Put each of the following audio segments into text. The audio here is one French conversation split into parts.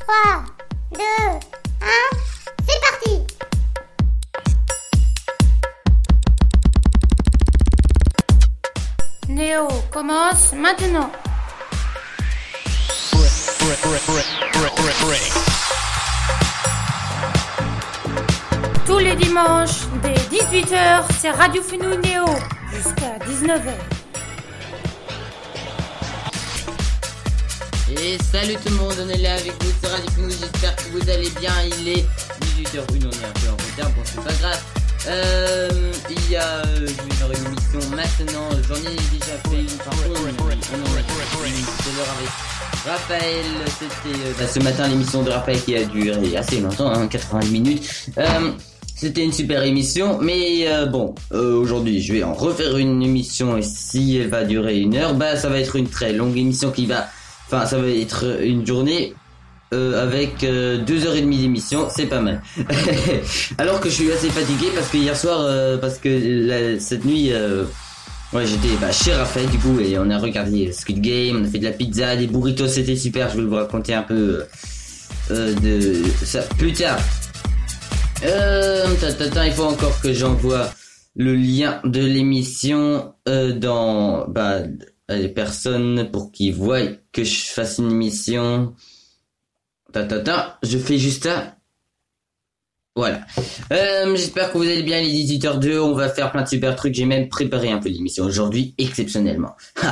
3, 2, 1, c'est parti. Néo commence maintenant. Tous les dimanches, dès 18h, c'est Radio Fenouil Néo, jusqu'à 19h. Et salut tout le monde, on est là avec vous sur Radio Fenouil, j'espère que vous allez bien. Il est 18h01, on est un peu en retard, bon c'est pas grave. Il y a, je vais faire une émission maintenant, j'en ai déjà fait une par contre, on en a fait une tout à l'heure avec Raphaël, c'était ce matin l'émission de Raphaël qui a duré assez longtemps, 90 minutes. C'était une super émission, mais aujourd'hui je vais en refaire une émission et si elle va durer 1 heure, ça va être une très longue émission ça va être une journée avec 2h30 d'émission, c'est pas mal. Alors que je suis assez fatigué parce que hier soir, cette nuit, j'étais chez Raphaël du coup et on a regardé Squid Game, on a fait de la pizza, des burritos, c'était super. Je vais vous raconter un peu de ça plus tard. Il faut encore que j'envoie le lien de l'émission dans les personnes pour qu'ils voient que je fasse une émission. Je fais juste ça. Voilà. J'espère que vous allez bien, les 18h02. On va faire plein de super trucs. J'ai même préparé un peu l'émission aujourd'hui, exceptionnellement.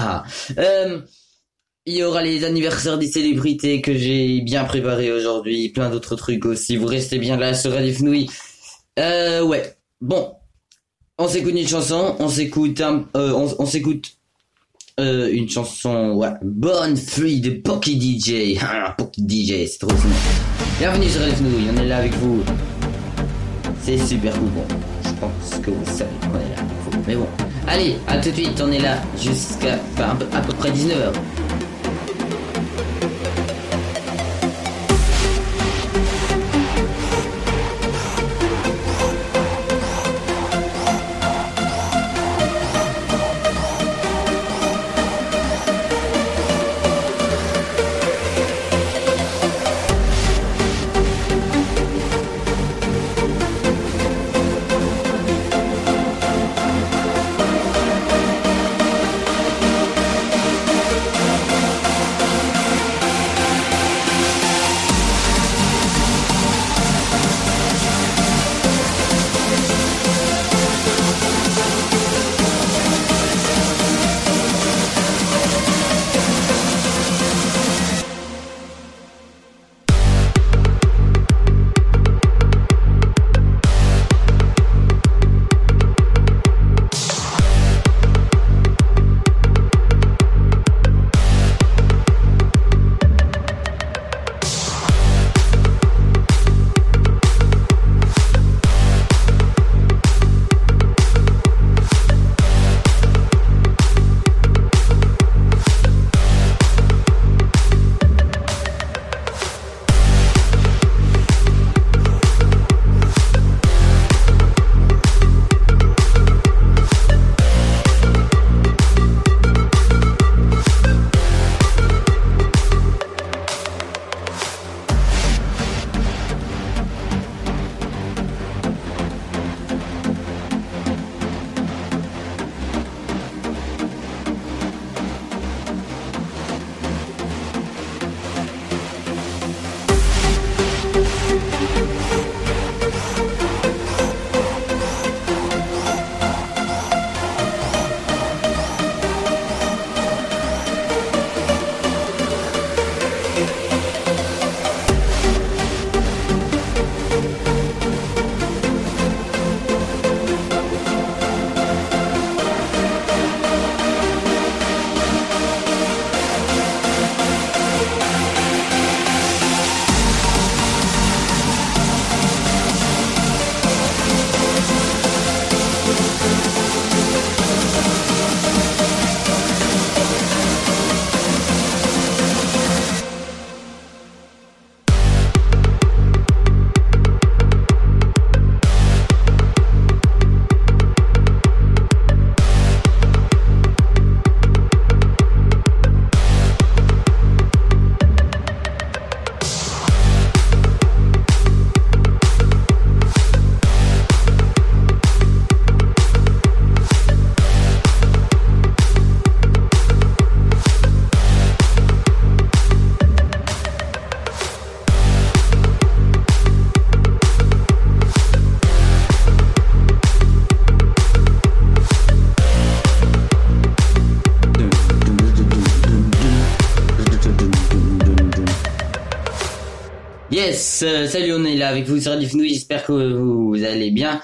Il y aura les anniversaires des célébrités que j'ai bien préparé aujourd'hui. Plein d'autres trucs aussi. Vous restez bien là sur Radio Fenouil. Bon. On s'écoute une chanson. On s'écoute une chanson, Born Free de Pocky DJ. Pocky DJ, c'est trop simple. Bienvenue sur Radio Fenouil, on est là avec vous. C'est super cool, bon. Je pense que vous savez qu'on est là avec vous. Mais bon, allez, à tout de suite, on est là jusqu'à à peu près 19h. Yes, salut, on est là avec vous sur Radio Fenouil, j'espère que vous allez bien.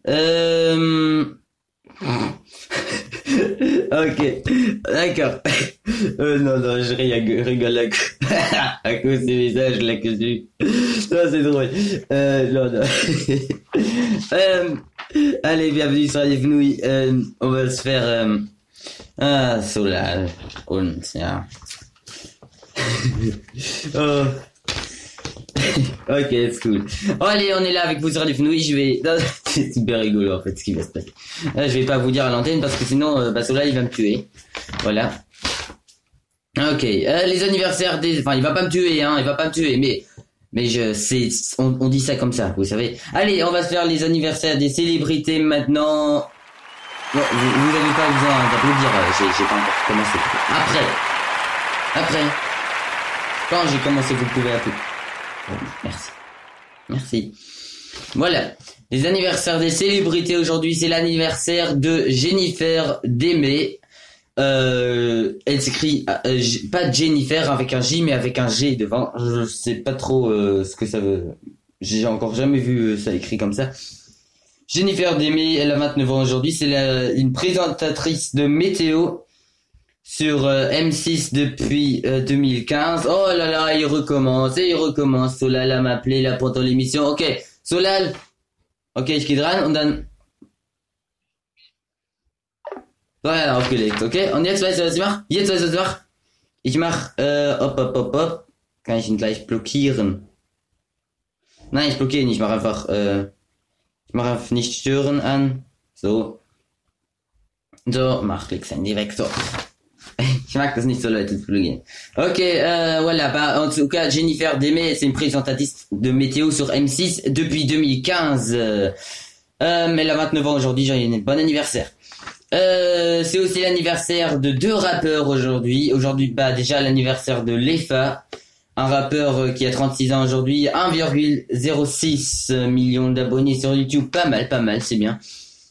Ok, d'accord. Non, je rigole à cause des messages là que j'ai eu. Non, c'est drôle. Non. Allez, bienvenue sur Radio Fenouil. On va se faire Solal. Ja. Oh. Ok, c'est cool. Oh, allez, on est là avec vous sur Radio Fenouil. C'est super rigolo en fait ce qui va se passer. Je vais pas vous dire à l'antenne parce que sinon Solal il va me tuer. Voilà. Ok, les anniversaires des... Enfin, il va pas me tuer, hein, il va pas me tuer, mais on dit ça comme ça, vous savez. Allez, on va se faire les anniversaires des célébrités maintenant. Non, vous avez pas besoin d'applaudir, j'ai pas encore commencé. Après. Quand j'ai commencé, vous pouvez applaudir. Merci. Voilà. Les anniversaires des célébrités aujourd'hui, c'est l'anniversaire de Jennifer Demey. Elle s'écrit pas Jennifer avec un J mais avec un G devant. Je sais pas trop ce que ça veut. J'ai encore jamais vu ça écrit comme ça. Jennifer Demey, elle a 29 ans aujourd'hui. C'est une présentatrice de météo sur M6 depuis 2015. Oh là là, il recommence. Solal m'a appelé là pendant l'émission. Ok, Solal. Ok, ich gehe dran und dann... So, ja, aufgelegt, okay? Und jetzt weißt du, was ich mache? Ich mach, hopp. Kann ich ihn gleich blockieren? Nein, ich blockiere ihn nicht. Ich mache einfach nicht stören an. So, mach Klicks Handy weg, so. Ich mag das nicht so, Leute, zu blockieren. Ok, voilà, bah, en tout cas, Jennifer Demey, c'est une présentatrice de météo sur M6 depuis 2015. Elle a 29 ans aujourd'hui, j'ai un bon anniversaire. C'est aussi l'anniversaire de deux rappeurs aujourd'hui. Aujourd'hui, bah, déjà l'anniversaire de Lefa, un rappeur qui a 36 ans aujourd'hui, 1,06 million d'abonnés sur YouTube. Pas mal, c'est bien.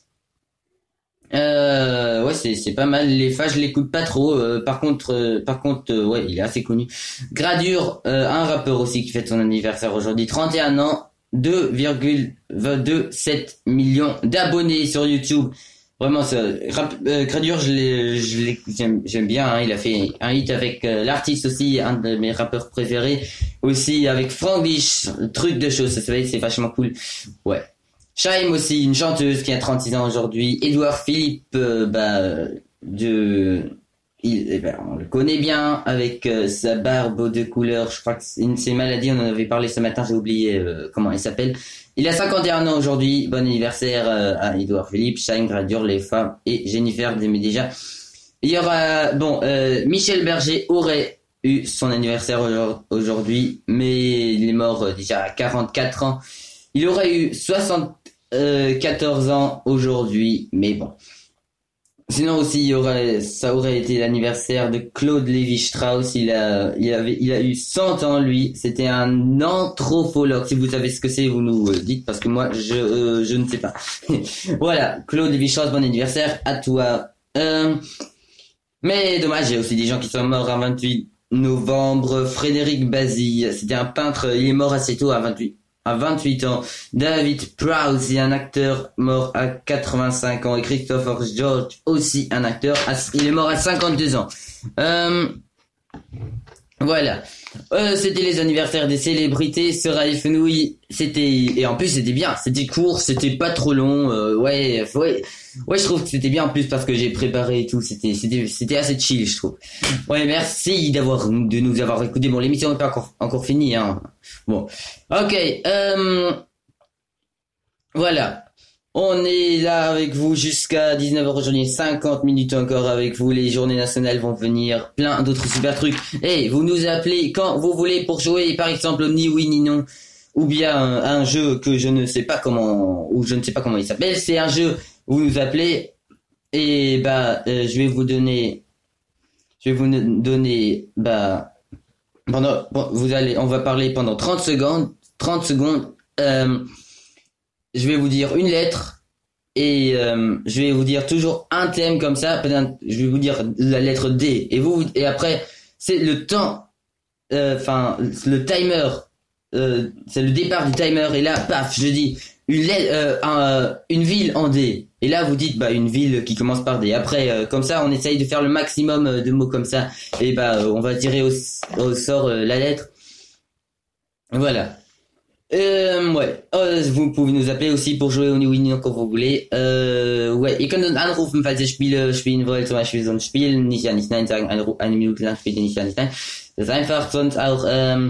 Ouais, c'est pas mal. Lefa, je l'écoute pas trop. Par contre, ouais, il est assez connu. Gradure, un rappeur aussi qui fête son anniversaire aujourd'hui, 31 ans, 2,27 millions d'abonnés sur YouTube. Vraiment, Gradure, j'aime bien, hein. Il a fait un hit avec l'artiste aussi, un de mes rappeurs préférés, aussi avec Franglish, truc de choses, ça c'est vachement cool. Ouais. Shaim aussi, une chanteuse qui a 36 ans aujourd'hui. Edouard Philippe, on le connaît bien avec sa barbe aux deux couleurs. Je crois que c'est une de ses maladies, on en avait parlé ce matin, j'ai oublié comment elle s'appelle. Il a 51 ans aujourd'hui. Bon anniversaire à Edouard Philippe, Shaim, Gradure, Lefa et Jennifer Demey déjà. Il y aura Michel Berger aurait eu son anniversaire aujourd'hui, mais il est mort déjà à 44 ans. Il aurait eu 74 ans aujourd'hui, mais bon. Sinon aussi, ça aurait été l'anniversaire de Claude Lévi-Strauss. Il a eu 100 ans, lui. C'était un anthropologue. Si vous savez ce que c'est, vous nous dites, parce que moi, je ne sais pas. Voilà. Claude Lévi-Strauss, bon anniversaire à toi. Mais dommage, il y a aussi des gens qui sont morts à 28 novembre. Frédéric Bazille, c'était un peintre. Il est mort assez tôt à 28 ans. David Prowse, un acteur mort à 85 ans. Et Christopher George, aussi un acteur. Il est mort à 52 ans. Voilà. C'était les anniversaires des célébrités sur Radio Fenouil. Et en plus c'était bien. C'était court, c'était pas trop long. Ouais, je trouve que c'était bien en plus parce que j'ai préparé et tout. C'était assez chill, je trouve. Ouais, merci de nous avoir écouté. Bon, l'émission n'est pas encore finie, hein. Bon. Ok, voilà. On est là avec vous jusqu'à 19h aujourd'hui, 50 minutes encore avec vous. Les journées nationales vont venir, plein d'autres super trucs. Et vous nous appelez quand vous voulez pour jouer, par exemple, au ni oui ni non, ou bien un jeu que je ne sais pas comment il s'appelle. C'est un jeu, vous nous appelez et je vais vous donner on va parler pendant 30 secondes. Je vais vous dire une lettre et je vais vous dire toujours un thème comme ça. Je vais vous dire la lettre D et après c'est le temps, le timer c'est le départ du timer, et là, paf, je dis une ville en D. Et là, vous dites une ville qui commence par D. Après, comme ça, on essaye de faire le maximum de mots comme ça. Et on va tirer au sort la lettre. Voilà. Ouais. Vous pouvez nous appeler aussi pour jouer au New Win quand vous voulez. Ouais, ihr könnt uns anrufen, falls ihr Spiele spielen wollt, zum Beispiel so ein Spiel, nicht ja, nicht nein sagen, eine Minute lang spielt ihr nicht ja, nicht nein. Das ist einfach, sonst auch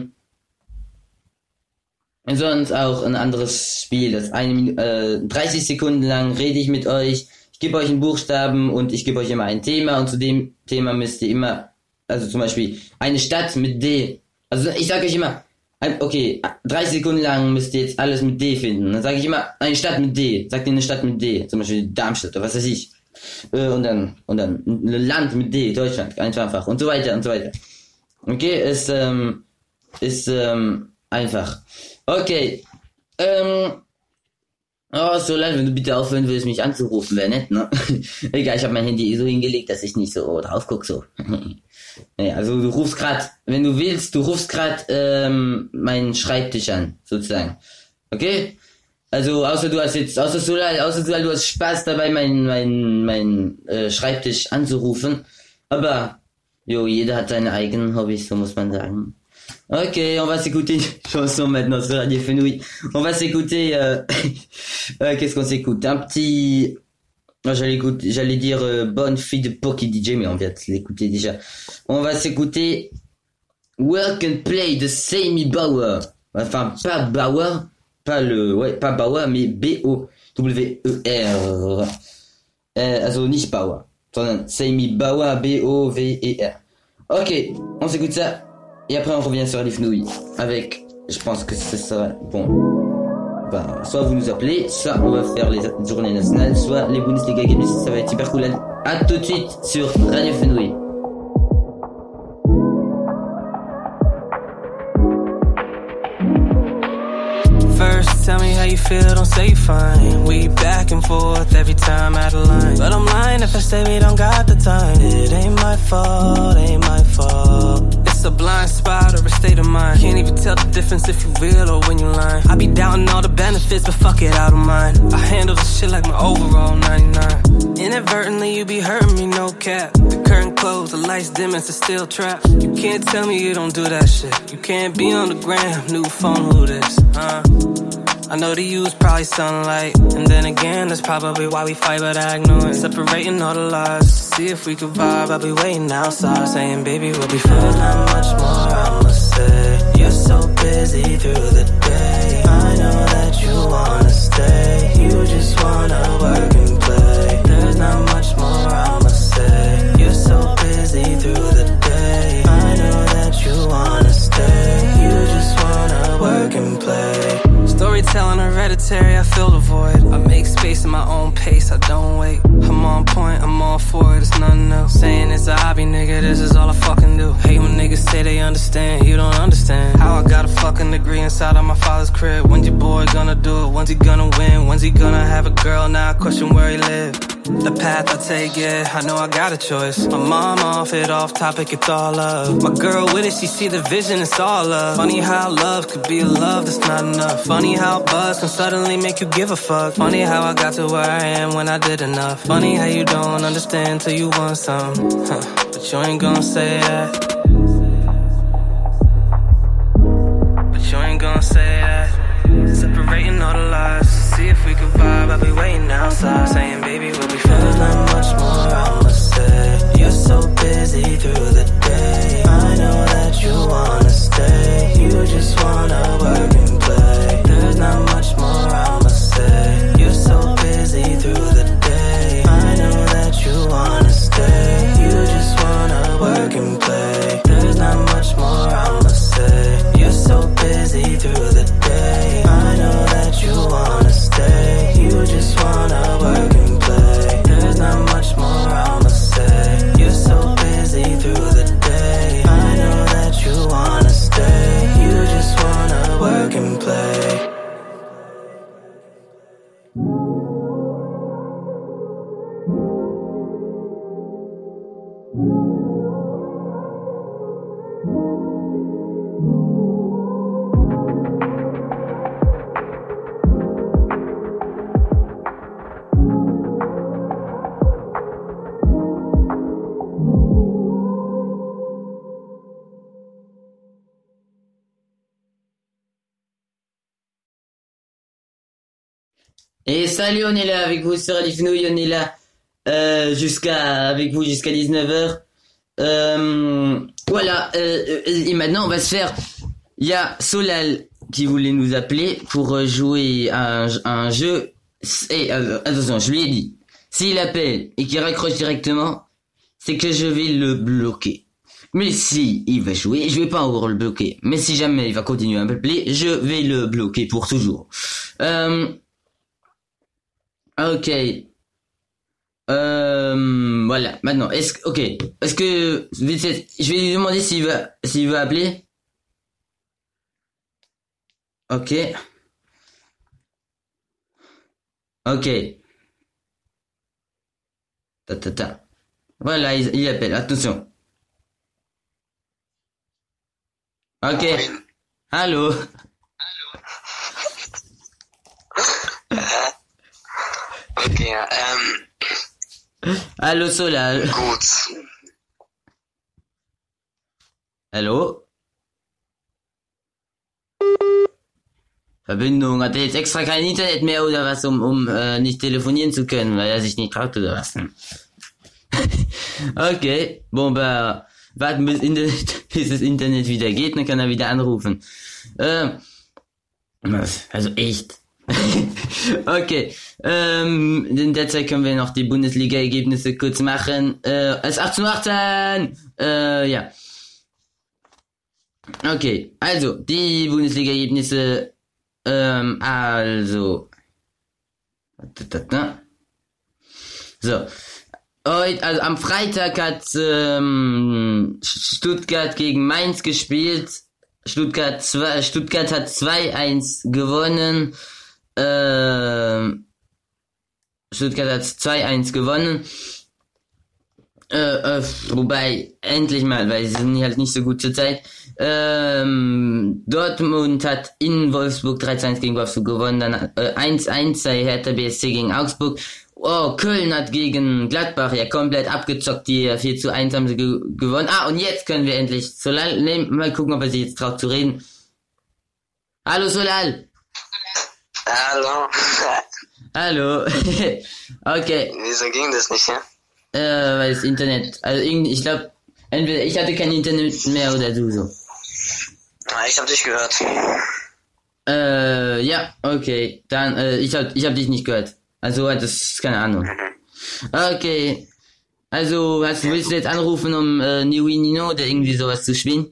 ein anderes Spiel, das 30 Sekunden lang rede ich mit euch, ich gebe euch einen Buchstaben und ich gebe euch immer ein Thema, und zu dem Thema müsst ihr immer, also zum Beispiel eine Stadt mit D, also ich sage euch immer, okay, 30 Sekunden lang müsst ihr jetzt alles mit D finden. Dann sage ich immer, eine Stadt mit D. Sagt ihr eine Stadt mit D. Zum Beispiel Darmstadt oder was weiß ich. Und dann ein Land mit D, Deutschland, ganz einfach. Und so weiter und so weiter. Okay, ist einfach. Okay. Oh, Solange, wenn du bitte aufhören würdest, mich anzurufen, wäre nett, ne? Egal, ich habe mein Handy so hingelegt, dass ich nicht so drauf guck, so. Ja, also du rufst grad, wenn du willst, meinen Schreibtisch an, sozusagen. Okay? Also, außer du hast Spaß dabei, mein Schreibtisch anzurufen. Aber, jeder hat seine eigenen Hobbys, so muss man sagen. Ok, on va s'écouter une chanson maintenant sur Radio Fenouil. On va s'écouter... qu'est-ce qu'on s'écoute? Un petit... J'allais dire Bonne fille de Pocky DJ, mais on vient de l'écouter déjà. On va s'écouter Work and Play de Sammy Bauer. Enfin, pas Bauer, pas Bauer, mais B-O-W-E-R. Also nicht Bauer, sondern Sammy Bauer, B-O-V-E-R. Ok, on s'écoute ça. Et après on revient sur les Fenouilles avec, je pense que ce sera bon. Soit vous nous appelez, soit on va faire les journées nationales, soit les Bundesliga Games, ça va être hyper cool. À tout de suite sur Radio Fenouille. First, tell me how you feel, don't say fine. We back and forth every time out of line. But I'm lying if I say we don't got the time. It ain't my fault, ain't my fault. It's a blind spot or a state of mind. Can't even tell the difference if you real or when you lying. I be doubting all the benefits, but fuck it, I don't mind. I handle this shit like my overall 99. Inadvertently, you be hurting me, no cap. The curtain closed, the lights dim, it's a steel trap. You can't tell me you don't do that shit. You can't be on the gram, new phone, who this, I know to you it's probably sunlight. And then again, that's probably why we fight, but I ignore it. Separating all the lies, see if we could vibe. I'll be waiting outside, saying, baby, we'll be fine. There's not much more I must say. You're so busy through the day. I know that you wanna stay. You just wanna work and play. There's not much more I must say. You're so busy through the day. I know that you wanna stay. You just wanna work and play. Storytelling hereditary, I fill the void. I make space in my own pace, I don't wait. I'm on point, I'm all for it, it's nothing else. Saying it's a hobby, nigga, this is all I fucking do. Hate when niggas say they understand, you don't understand. How I got a fucking degree inside of my father's crib. When's your boy gonna do it? When's he gonna win? When's he gonna have a girl? Now I question where he live. The path I take, yeah, I know I got a choice. My mom off it, off topic, it's all love. My girl with it, she see the vision, it's all love. Funny how love could be a love that's not enough. Funny how buzz can suddenly make you give a fuck. Funny how I got to where I am when I did enough. Funny how you don't understand till you want some, but you ain't gonna say that. But you ain't gonna say that. Separating all the lies, see if we could vibe. I'll be waiting outside, saying, baby, we'll be fine. There's not much more I must say. You're so busy through the day. I know that you wanna stay. You just wanna work and play. There's not much more I must say. You're so busy through the day. I know that you wanna stay. You just wanna work and play. Et salut, on est là avec vous sur Radio Fenouil, on est là avec vous jusqu'à 19h. Voilà, et maintenant on va se faire... Il y a Solal qui voulait nous appeler pour jouer à un jeu. Et attention, je lui ai dit, s'il appelle et qu'il raccroche directement, c'est que je vais le bloquer. Mais si il va jouer, je vais pas encore le bloquer. Mais si jamais il va continuer à m'appeler, je vais le bloquer pour toujours. Ok. Voilà. Maintenant, est-ce que je vais lui demander s'il veut appeler. Ok. Ok. Ta. Voilà, il appelle. Attention. Ok. Allô. Ok, Hallo Solal. gut. Hallo? Verbindung. Hat er jetzt extra kein Internet mehr oder was, um nicht telefonieren zu können, weil er sich nicht traut oder was? Okay. Bon, warten bis das Internet wieder geht, dann kann er wieder anrufen. Also echt. Okay. In der Zeit können wir noch die Bundesliga-Ergebnisse kurz machen. Es 18. Ja. Okay. Also, die Bundesliga-Ergebnisse, also. So. Heute, also am Freitag hat Stuttgart gegen Mainz gespielt. Stuttgart hat 2-1 gewonnen. Stuttgart hat 2-1 gewonnen. Wobei, endlich mal, weil sie sind halt nicht so gut zur Zeit. Dortmund hat in Wolfsburg 3-1 gegen Wolfsburg gewonnen. Dann 1-1 bei Hertha BSC gegen Augsburg. Oh, Köln hat gegen Gladbach ja komplett abgezockt, die 4-1 haben sie gewonnen. Und jetzt können wir endlich Solal nehmen. Mal gucken, ob er sich jetzt traut zu reden. Hallo Solal. Hallo. Hallo. Okay. Wieso ging das nicht, ja? Weil das Internet, also irgendwie, ich glaube, entweder ich hatte kein Internet mehr oder du so. Ich hab dich gehört. Ja, okay. Dann, ich hab dich nicht gehört. Also, das ist keine Ahnung. Okay. Also, willst du jetzt anrufen, um Niwi Nino oder irgendwie sowas zu spielen?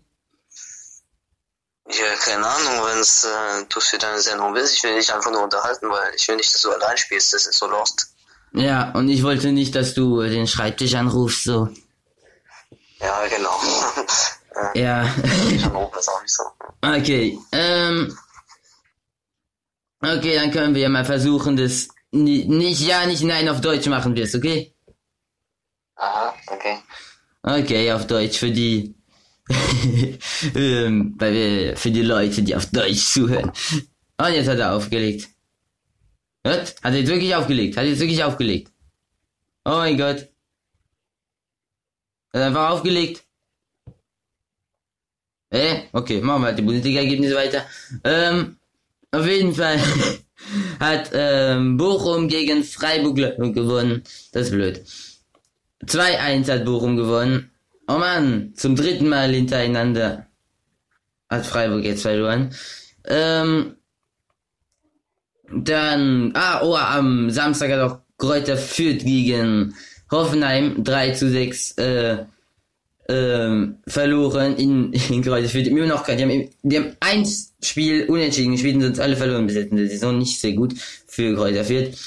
Ja, keine Ahnung, wenn's du für deine Sendung bist. Ich will dich einfach nur unterhalten, weil ich will nicht, dass du allein spielst. Das ist so lost. Ja, und ich wollte nicht, dass du den Schreibtisch anrufst, so. Ja, genau. Ja. Ich anrufe, ist auch nicht so. Okay, okay, dann können wir ja mal versuchen, das nicht ja, nicht nein auf Deutsch machen wirst, okay? Aha, okay. Okay, auf Deutsch für die, für die Leute, die auf Deutsch zuhören. Und jetzt hat er aufgelegt. Was? Hat er jetzt wirklich aufgelegt? Oh mein Gott. Hat er einfach aufgelegt. Okay, machen wir halt die Bundesliga-Ergebnisse weiter. Auf jeden Fall hat Bochum gegen Freiburg gewonnen. Das ist blöd. 2-1 hat Bochum gewonnen. Oh Mann, zum 3. Mal hintereinander hat Freiburg jetzt verloren. Dann, am Samstag hat auch Greuther Fürth gegen Hoffenheim 3-6 verloren in Greuther Fürth. Die haben 1 Spiel unentschieden gespielt und sind alle verloren bis jetzt in der Saison. Nicht sehr gut für Greuther Fürth.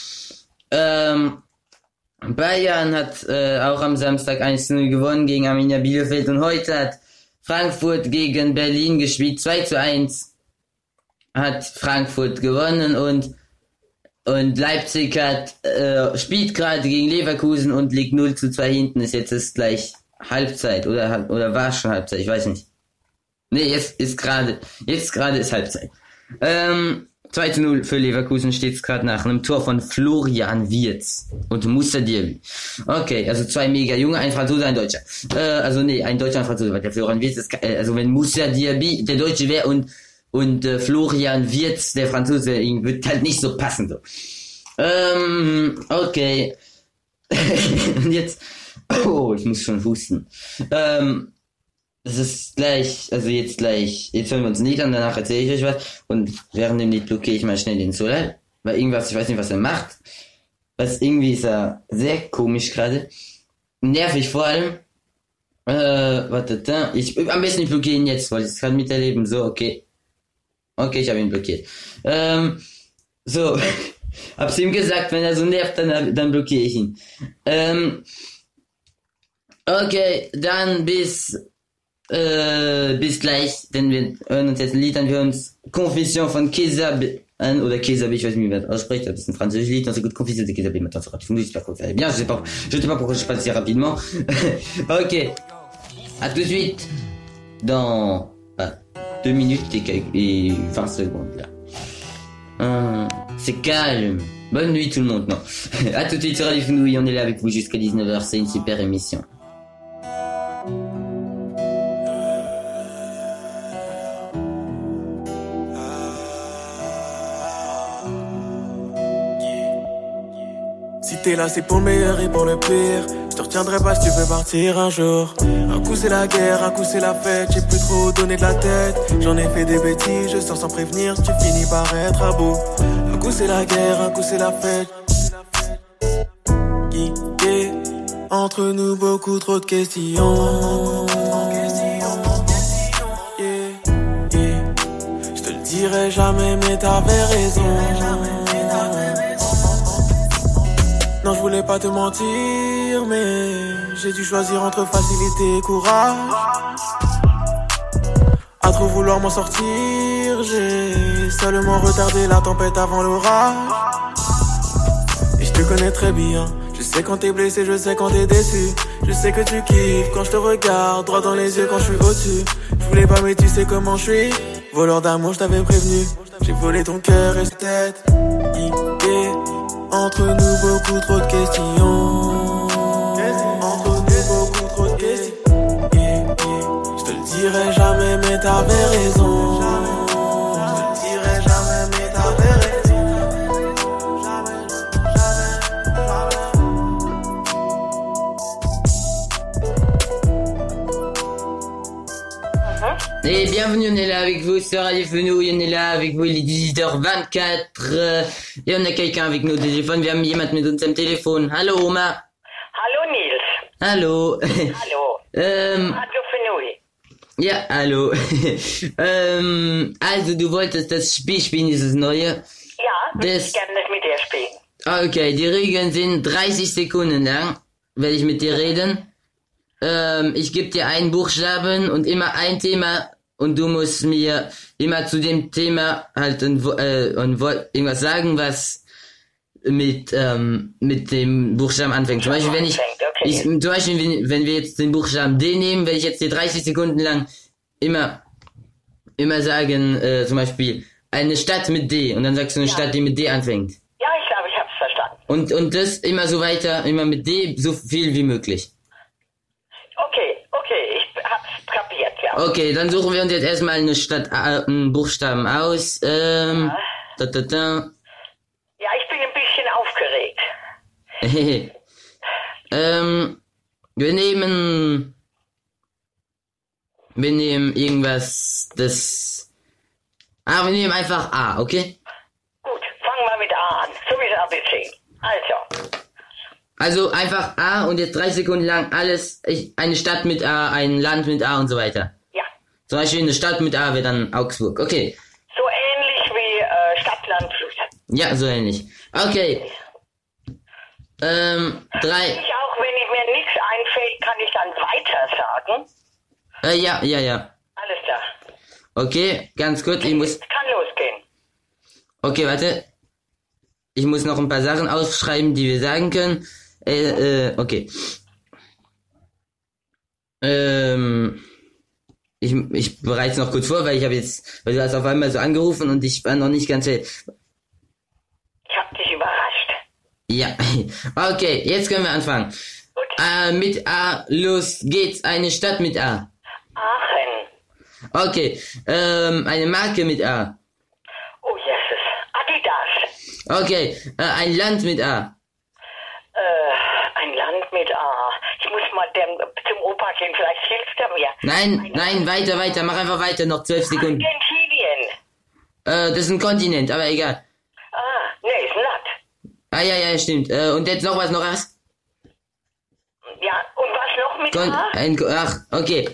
Bayern hat auch am Samstag 1-0 gewonnen gegen Arminia Bielefeld und heute hat Frankfurt gegen Berlin gespielt. 2-1 hat Frankfurt gewonnen und Leipzig spielt gerade gegen Leverkusen und liegt 0-2 hinten. Jetzt ist gleich Halbzeit oder war schon Halbzeit, ich weiß nicht. Nee, jetzt gerade ist Halbzeit. 2-0 für Leverkusen steht's gerade nach einem Tor von Florian Wirtz und Moussa Diaby. Okay, also 2 mega Junge, ein Franzose, ein Deutscher. Ein Deutscher, ein Franzose, weil der Florian Wirtz ist, also wenn Moussa Diaby der Deutsche wäre und Florian Wirtz der Franzose, wird halt nicht so passen so. Okay. Und jetzt, oh, ich muss schon husten. Es ist gleich, also jetzt hören wir uns ein Lied an, danach erzähle ich euch was und während dem Lied blockiere ich mal schnell den Solal, weil irgendwas, ich weiß nicht, was er macht, was irgendwie ist er sehr komisch gerade, nervig vor allem, am besten ich blockiere ihn jetzt, weil ich es gerade miterleben, so, okay, ich habe ihn blockiert, so, hab's ihm gesagt, wenn er so nervt, dann blockiere ich ihn, okay, dann bis gleich, denn wir hören uns jetzt ein Lied an, wir hören uns Confession von Kesabe an, oder Kesabe, ich weiß nicht, wie man das ausspricht, das ist ein französisches Lied, donc c'est Confession de Kesabe, maintenant ça rapide, j'espère que vous allez bien, je sais pas pourquoi je passe si rapidement, ok, à tout de suite, dans 2 minutes et 20 secondes, là, c'est calme, bonne nuit tout le monde, non, à tout de suite sur Radio Fenouil, on est là avec vous jusqu'à 19h, c'est une super émission. Si t'es là c'est pour le meilleur et pour le pire. Je te retiendrai pas si tu veux partir un jour. Un coup c'est la guerre, un coup c'est la fête. J'ai plus trop donné de la tête. J'en ai fait des bêtises, je sors sans prévenir. Tu finis par être à bout. Un coup c'est la guerre, un coup c'est la fête. Yeah. Entre nous beaucoup trop de questions. Yeah. Je te le dirai jamais mais t'avais raison. Non, je voulais pas te mentir, mais j'ai dû choisir entre facilité et courage. À trop vouloir m'en sortir, j'ai seulement retardé la tempête avant l'orage. Et je te connais très bien, je sais quand t'es blessé, je sais quand t'es déçu. Je sais que tu kiffes quand je te regarde droit dans les yeux quand je suis au-dessus. Je voulais pas mais tu sais comment je suis. Voleur d'amour, je t'avais prévenu. J'ai volé ton cœur et ta tête. Entre nous beaucoup trop de questions. Entre nous beaucoup trop de questions. Je te le dirai jamais mais t'avais raison. Je te le dirai jamais mais t'avais raison. Et bienvenue, on est là avec vous sur Radio Fenouil, on est là avec vous, il est 18h24 et on a quelqu'un avec nous au téléphone, wir haben jemand mit uns am Telefon. Hallo Oma. Hallo Nils. Hallo. Hallo. Radio Fenouil. Ja, hallo. Also du wolltest das Spiel spielen, dieses neue? Ja, würde ich gerne mit dir spielen. Okay, die Regeln sind 30 Sekunden lang, werde ich mit dir reden. Ich gebe dir einen Buchstaben und immer ein Thema und du musst mir immer zu dem Thema halt irgendwas sagen, was mit dem Buchstaben anfängt. Zum Beispiel, wenn wir jetzt den Buchstaben D nehmen, werde ich jetzt dir 30 Sekunden lang immer sagen, zum Beispiel eine Stadt mit D und dann sagst du eine Stadt, die mit D anfängt. Ja, ich glaube, ich habe es verstanden. Und das immer so weiter, immer mit D, so viel wie möglich. Okay, ich hab's kapiert, ja. Okay, dann suchen wir uns jetzt erstmal eine Stadt, einen Buchstaben aus. Ja, ich bin ein bisschen aufgeregt. Wir nehmen irgendwas, wir nehmen einfach A, okay? Gut, fangen wir mit A an, so wie das ABC. Also einfach A und jetzt 3 Sekunden lang alles, eine Stadt mit A, ein Land mit A und so weiter. Ja. Zum Beispiel eine Stadt mit A wäre dann Augsburg, okay. So ähnlich wie Stadt, Land, Fluss. Ja, so ähnlich. Okay. 3. Ich auch, wenn mir nichts einfällt, kann ich dann weiter sagen? Ja. Alles klar. Okay, ganz gut, Kann losgehen. Okay, warte. Ich muss noch ein paar Sachen aufschreiben, die wir sagen können. Okay. Ich bereite es noch kurz vor, weil du hast auf einmal so angerufen und ich war noch nicht ganz schnell. Ich hab dich überrascht. Ja. Okay, jetzt können wir anfangen. Gut. Mit A, los geht's. Eine Stadt mit A. Aachen. Okay. Eine Marke mit A. Oh, Jesus. Adidas. Okay, ein Land mit A. Ein Land mit A. Ich muss mal zum Opa gehen, vielleicht hilft er mir. Nein, weiter, mach einfach weiter, noch 12 Sekunden. Argentinien. Das ist ein Kontinent, aber egal. Nee, ist ein Land. Ja, stimmt. Und jetzt noch was? Ja, und was noch mit A? Okay.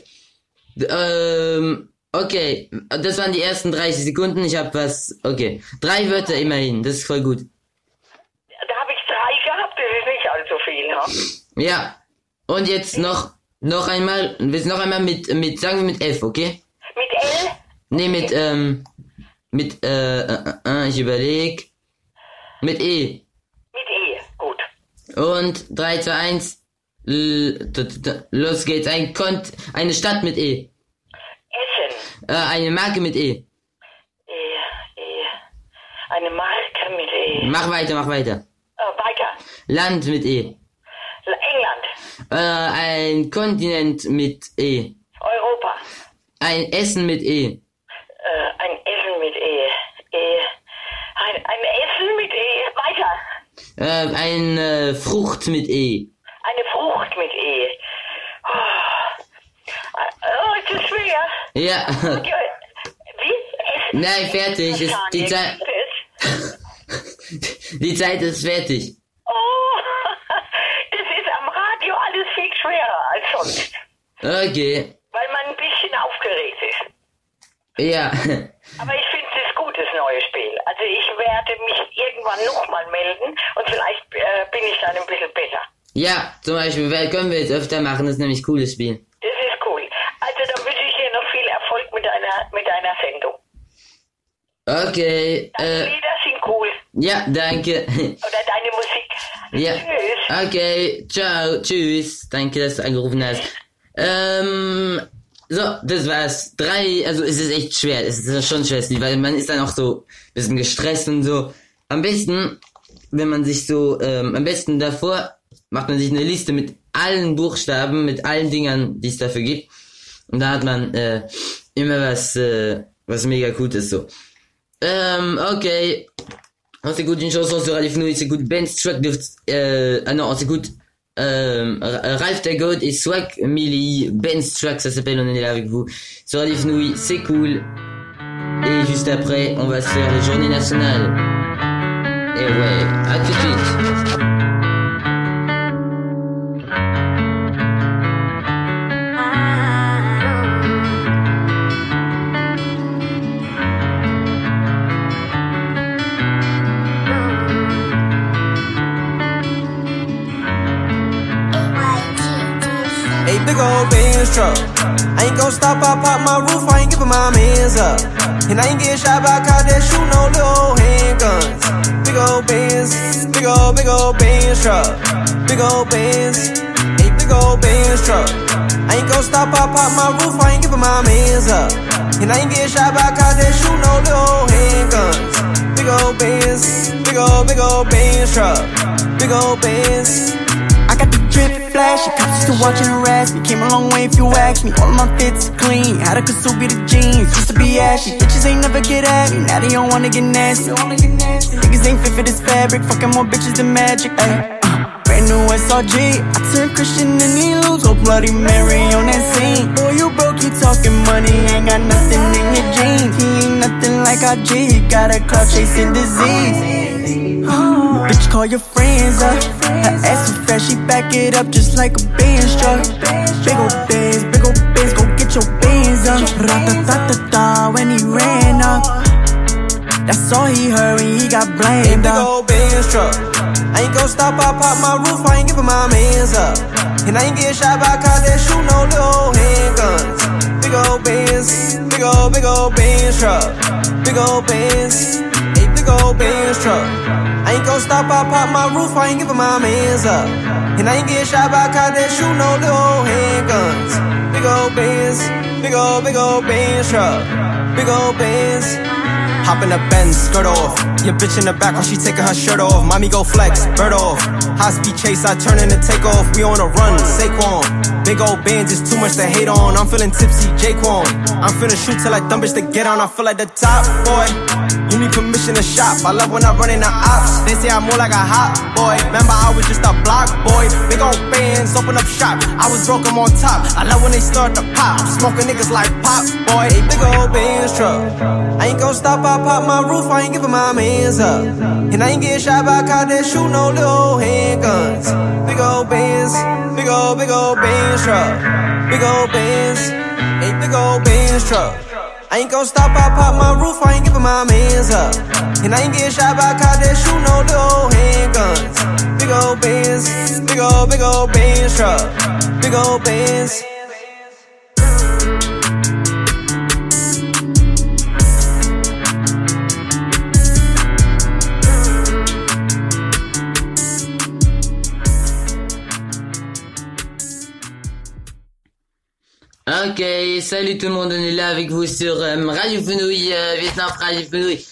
Okay, das waren die ersten 30 Sekunden, ich hab was, okay. 3 Wörter immerhin, das ist voll gut. Da habe ich 3 gehabt, das ist nicht allzu viel, ne? Ja, und jetzt noch einmal mit, sagen wir mit F, okay? Mit L? Nee, ich überleg. Mit E. Mit E, gut. Und 3, 2, 1, los geht's, eine Stadt mit E. Essen. Eine Marke mit E. Eine Marke mit E. Mach weiter. Weiter. Land mit E. England. Ein Kontinent mit E. Europa. Ein Essen mit E. Ein Essen mit E. Ein Essen mit E. Weiter. Eine Frucht mit E. Eine Frucht mit E. Ist das schwer? Ja. Wie? Nein, fertig. Ist die Zeit. Die Zeit ist fertig. Oh, das ist am Radio alles viel schwerer als sonst. Okay. Weil man ein bisschen aufgeregt ist. Ja. Aber ich finde es gut, das neue Spiel. Also ich werde mich irgendwann nochmal melden und vielleicht bin ich dann ein bisschen besser. Ja, zum Beispiel, können wir jetzt öfter machen, das ist nämlich ein cooles Spiel. Das ist cool. Also dann wünsche ich dir noch viel Erfolg mit deiner Sendung. Okay, Deine Lieder sind cool. Ja, danke. Oder deine Musik. Ja. Tschüss. Okay, ciao, tschüss. Danke, dass du angerufen hast. So, das war's. Also es ist echt schwer. Es ist schon schwer, weil man ist dann auch so ein bisschen gestresst und so. Am besten, wenn man sich so, am besten davor macht man sich eine Liste mit allen Buchstaben, mit allen Dingern, die es dafür gibt. Und da hat man immer was mega gut ist so. Ok. On s'écoute une chanson sur Radio Fenouil, s'écoute Ben Swag de... non, on s'écoute Ralph Tagod et Swag Millie, Ben Swag, ça s'appelle, on est là avec vous. Sur Radio Fenouil, c'est cool. Et juste après, on va se faire les journées nationales. Et ouais, à tout de suite. Big old Benz truck. I ain't gon' stop, I pop my roof, I ain't giving my mans up. And I ain't getting shot by cops that shoot no little handguns. Big old Benz, big old Benz truck. Big old Benz, a big old Benz truck. I ain't gon' stop, I pop my roof, I ain't giving my mans up. And I ain't getting shot by cops that shoot no little handguns. Big old Benz, big old Benz truck. Big old Benz. I got the drip flash, cops still watching harass me. Came a long way if you ask me. All of my fits clean, had a Kasubi the jeans. Used to be ashy, bitches ain't never get at me. Now they don't wanna get nasty. Niggas ain't fit for this fabric, fucking more bitches than magic. Ay, brand new SRG, I turned Christian and he lose. Oh Bloody Mary on that scene. Boy you broke, you talking money, ain't got nothing in your jeans. He ain't nothing like RG, he got a clout chasing disease. Bitch, call your friends up. Her ass too fast, she back it up just like a Benz truck. Big ol' Benz, go get your Benz up. Ra-ta-ta-ta-ta when he ran up. That's all he heard when he got blamed up. Big ol' Benz truck. I ain't gon' stop, I pop my roof, I ain't giving my mans up. And I ain't getting shot by cops that shoot no little handguns. Big ol' Benz, big ol' Benz truck. Big ol' Benz, a big ol' Benz truck. I ain't gon' stop, I pop my roof, I ain't giving my mans up. And I ain't getting shot by cops that shoot no little handguns. Big ol' Benz, big ol' Benz truck. Big ol' Benz, Hop in the Benz, skirt off. Your bitch in the back while she taking her shirt off. Mommy go flex, bird off. High speed chase, I turn in and take off. We on a run, Saquon. Big old bands is too much to hate on. I'm feeling tipsy, Jaquan. I'm finna shoot till I dumb bitch to get on. I feel like the top boy. You need permission to shop. I love when I run in the ops. They say I'm more like a hot boy. Remember I was just a block boy. Big old bands, open up shop. I was broke, I'm on top. I love when they start to pop. Smoking niggas like pop boy. A big old bands truck. I ain't gon' stop, I pop my roof. I ain't giving my mans up. And I ain't getting shot by a cop that shoot no little handguns. Big old bands, big old bands truck. Big old bands, a big old bands truck. I ain't gon' stop, I pop my roof, I ain't giving my mans up. And I ain't getting shot by a cop that shoot no little handguns. Big old bands, big old bands truck. Big old bands. Ok, salut tout le monde, on est là avec vous sur Radio Fenouil, Vietnam Radio Fenouil.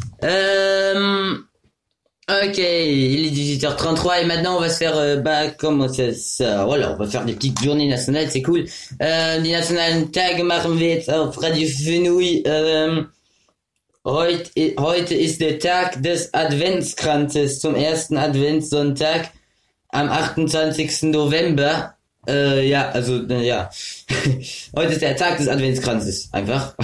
Ok, il est 18h33 et maintenant on va se faire, comment ça, voilà, on va faire des petites journées nationales, c'est cool. Die nationalen Tage machen wir jetzt auf Radio Fenouil. Heute ist der Tag des Adventskranzes zum ersten Adventssonntag am 28. November. Ja. Heute ist der Tag des Adventskranzes, einfach.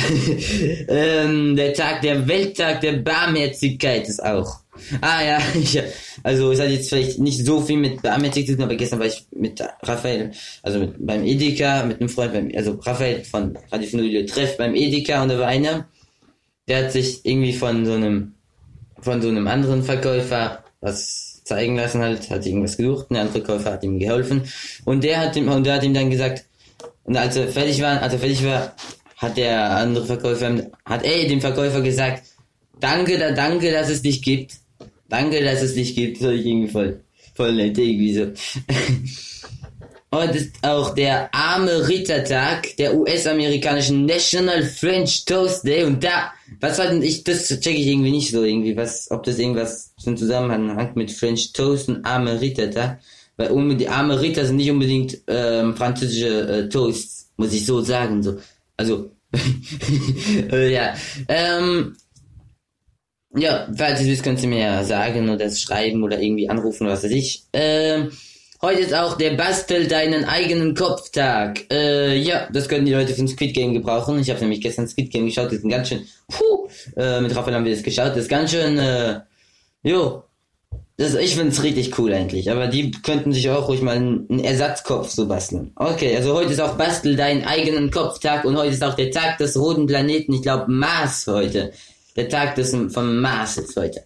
Der Welttag der Barmherzigkeit ist auch. Also es hat jetzt vielleicht nicht so viel mit Barmherzigkeit zu tun, aber gestern war ich mit Raphael, also beim Edeka, mit einem Freund, Raphael von Radio Fenouil Treff beim Edeka und da war einer, der hat sich irgendwie von so einem anderen Verkäufer was zeigen lassen, hat irgendwas gesucht, ein anderer Käufer hat ihm geholfen und der hat ihm dann gesagt, und als er fertig war, hat der andere Verkäufer, dem Verkäufer gesagt, danke, dass es dich gibt. Danke, dass es dich gibt. So, ich irgendwie voll nett, irgendwie so. Heute ist auch der arme Rittertag der US-amerikanischen National French Toast Day und das checke ich irgendwie nicht so irgendwie, ob das irgendwas zum Zusammenhang hat mit French Toast und arme Rittertag, weil die arme Ritter sind nicht unbedingt französische Toasts, muss ich so sagen, so. Also, ja, ja, falls ihr wisst, könnt ihr mir ja sagen oder schreiben oder irgendwie anrufen oder was weiß ich. Heute ist auch der Bastel deinen eigenen Kopf-Tag. Ja, das können die Leute für ein Squid Game gebrauchen. Ich habe nämlich gestern Squid Game geschaut, das ist ganz schön, mit Raphael haben wir das geschaut, das ist ganz schön, ich find's richtig cool eigentlich, aber die könnten sich auch ruhig mal einen Ersatzkopf so basteln. Okay, also heute ist auch Bastel deinen eigenen Kopf-Tag und heute ist auch der Tag des roten Planeten, ich glaube Mars heute. Der Tag vom Mars ist heute.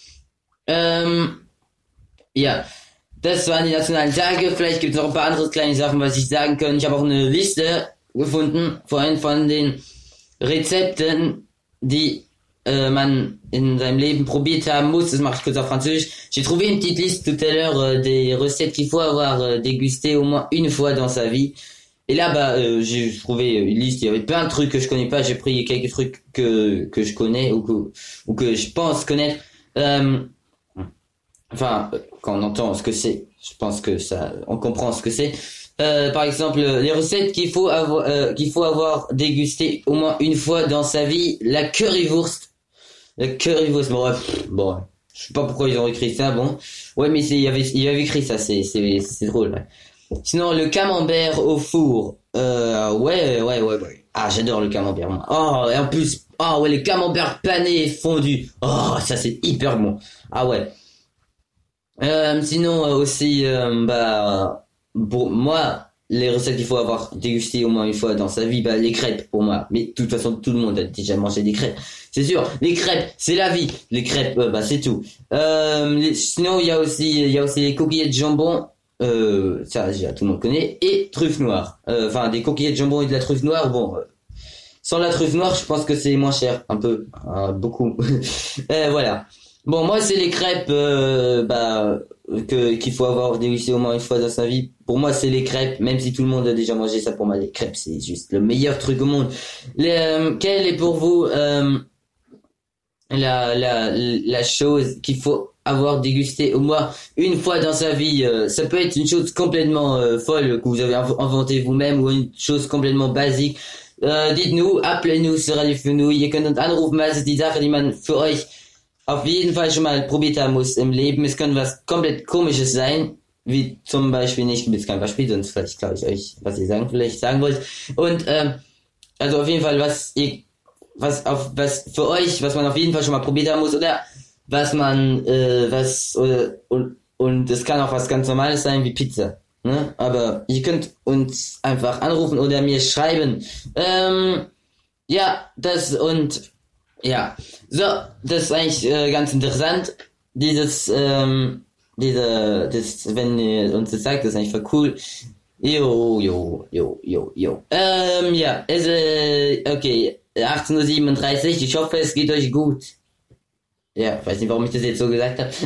Ja. Das waren die nationalen Tage. Vielleicht gibt es noch ein paar andere kleine Sachen, was ich sagen kann. Ich habe auch eine Liste gefunden, vorhin von den Rezepten, die man in seinem Leben probiert haben muss. Das mache ich kurz auf Französisch. J'ai trouvé une petite liste tout à l'heure des recettes qu'il faut avoir dégusté au moins une fois dans sa vie. Et là, j'ai trouvé une liste. Il y avait plein de trucs que je connais pas. J'ai pris quelques trucs que je connais ou que je pense connaître. Enfin, quand on entend ce que c'est, je pense que on comprend ce que c'est. Par exemple, les recettes qu'il faut avoir dégusté au moins une fois dans sa vie, la currywurst. La currywurst, bon, je sais pas pourquoi ils ont écrit ça, bon. Ouais, mais il y avait écrit ça, c'est drôle, ouais. Sinon, le camembert au four. Ouais. Ah, j'adore le camembert, moi. Oh, et en plus, ouais, le camembert pané et fondu. Oh, ça c'est hyper bon. Ah ouais. Sinon aussi, pour moi, les recettes qu'il faut avoir dégusté au moins une fois dans sa vie, les crêpes pour moi. Mais de toute façon, tout le monde a déjà mangé des crêpes. C'est sûr, les crêpes, c'est la vie. Les crêpes, c'est tout. Sinon, il y a aussi les coquillettes de jambon. Ça, déjà, tout le monde connaît. Et truffe noire. Enfin, des coquillettes de jambon et de la truffe noire, bon. Sans la truffe noire, je pense que c'est moins cher. Un peu. Beaucoup. Voilà. Bon, moi, c'est les crêpes, qu'il faut avoir dégusté au moins une fois dans sa vie. Pour moi, c'est les crêpes, même si tout le monde a déjà mangé ça. Pour moi, les crêpes, c'est juste le meilleur truc au monde. Quel est pour vous, la chose qu'il faut avoir dégusté au moins une fois dans sa vie. Ça peut être une chose complètement folle que vous avez inventé vous-même ou une chose complètement basique. Dites-nous, appelez-nous sur Radio Fenouil. Ihr könnt uns anrufen, was ist die Sache, die man für euch auf jeden Fall schon mal probiert haben muss im Leben. Es kann was komplett Komisches sein, wie zum Beispiel, ich gebe jetzt kein Beispiel, sonst vielleicht glaube ich euch, was ihr vielleicht sagen wollt. Und also auf jeden Fall, was für euch, was man auf jeden Fall schon mal probiert haben muss, oder was man, und es kann auch was ganz Normales sein, wie Pizza, ne? Aber ihr könnt uns einfach anrufen oder mir schreiben. Ja, das ist eigentlich ganz interessant. Wenn ihr uns das sagt, das ist eigentlich voll cool. Jo. Ja, okay, 18:37 Uhr, ich hoffe, es geht euch gut. Ja, weiß nicht, warum ich das jetzt so gesagt habe.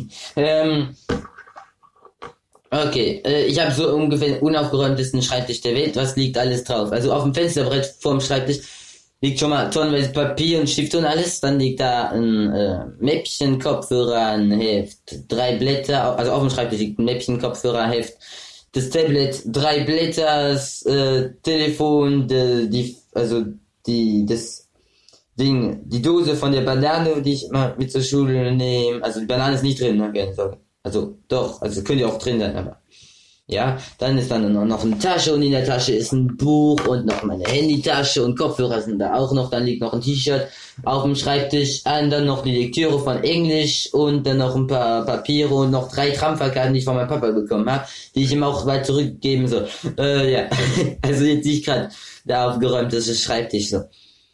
Okay, ich habe so ungefähr den unaufgeräumtesten Schreibtisch der Welt. Was liegt alles drauf? Also auf dem Fensterbrett vorm Schreibtisch liegt schon mal tonnenweise Papier und Stift und alles. Dann liegt da ein Mäppchen, Kopfhörer, ein Heft, 3 Blätter. Also auf dem Schreibtisch liegt ein Mäppchen, Kopfhörer, Heft, das Tablet, 3 Blätter, das Telefon, die Dose von der Banane, die ich immer mit zur Schule nehme. Also die Banane ist nicht drin, ne? Keine Sorge. Also doch, also könnte ja auch drin sein, aber ja, dann ist dann noch eine Tasche und in der Tasche ist ein Buch und noch meine Handytasche und Kopfhörer sind da auch noch, dann liegt noch ein T-Shirt auf dem Schreibtisch, dann noch die Lektüre von Englisch und dann noch ein paar Papiere und noch 3 Trampferkarten, die ich von meinem Papa bekommen habe, die ich ihm auch bald zurückgeben soll. Ja, also jetzt nicht gerade der aufgeräumteste Schreibtisch so.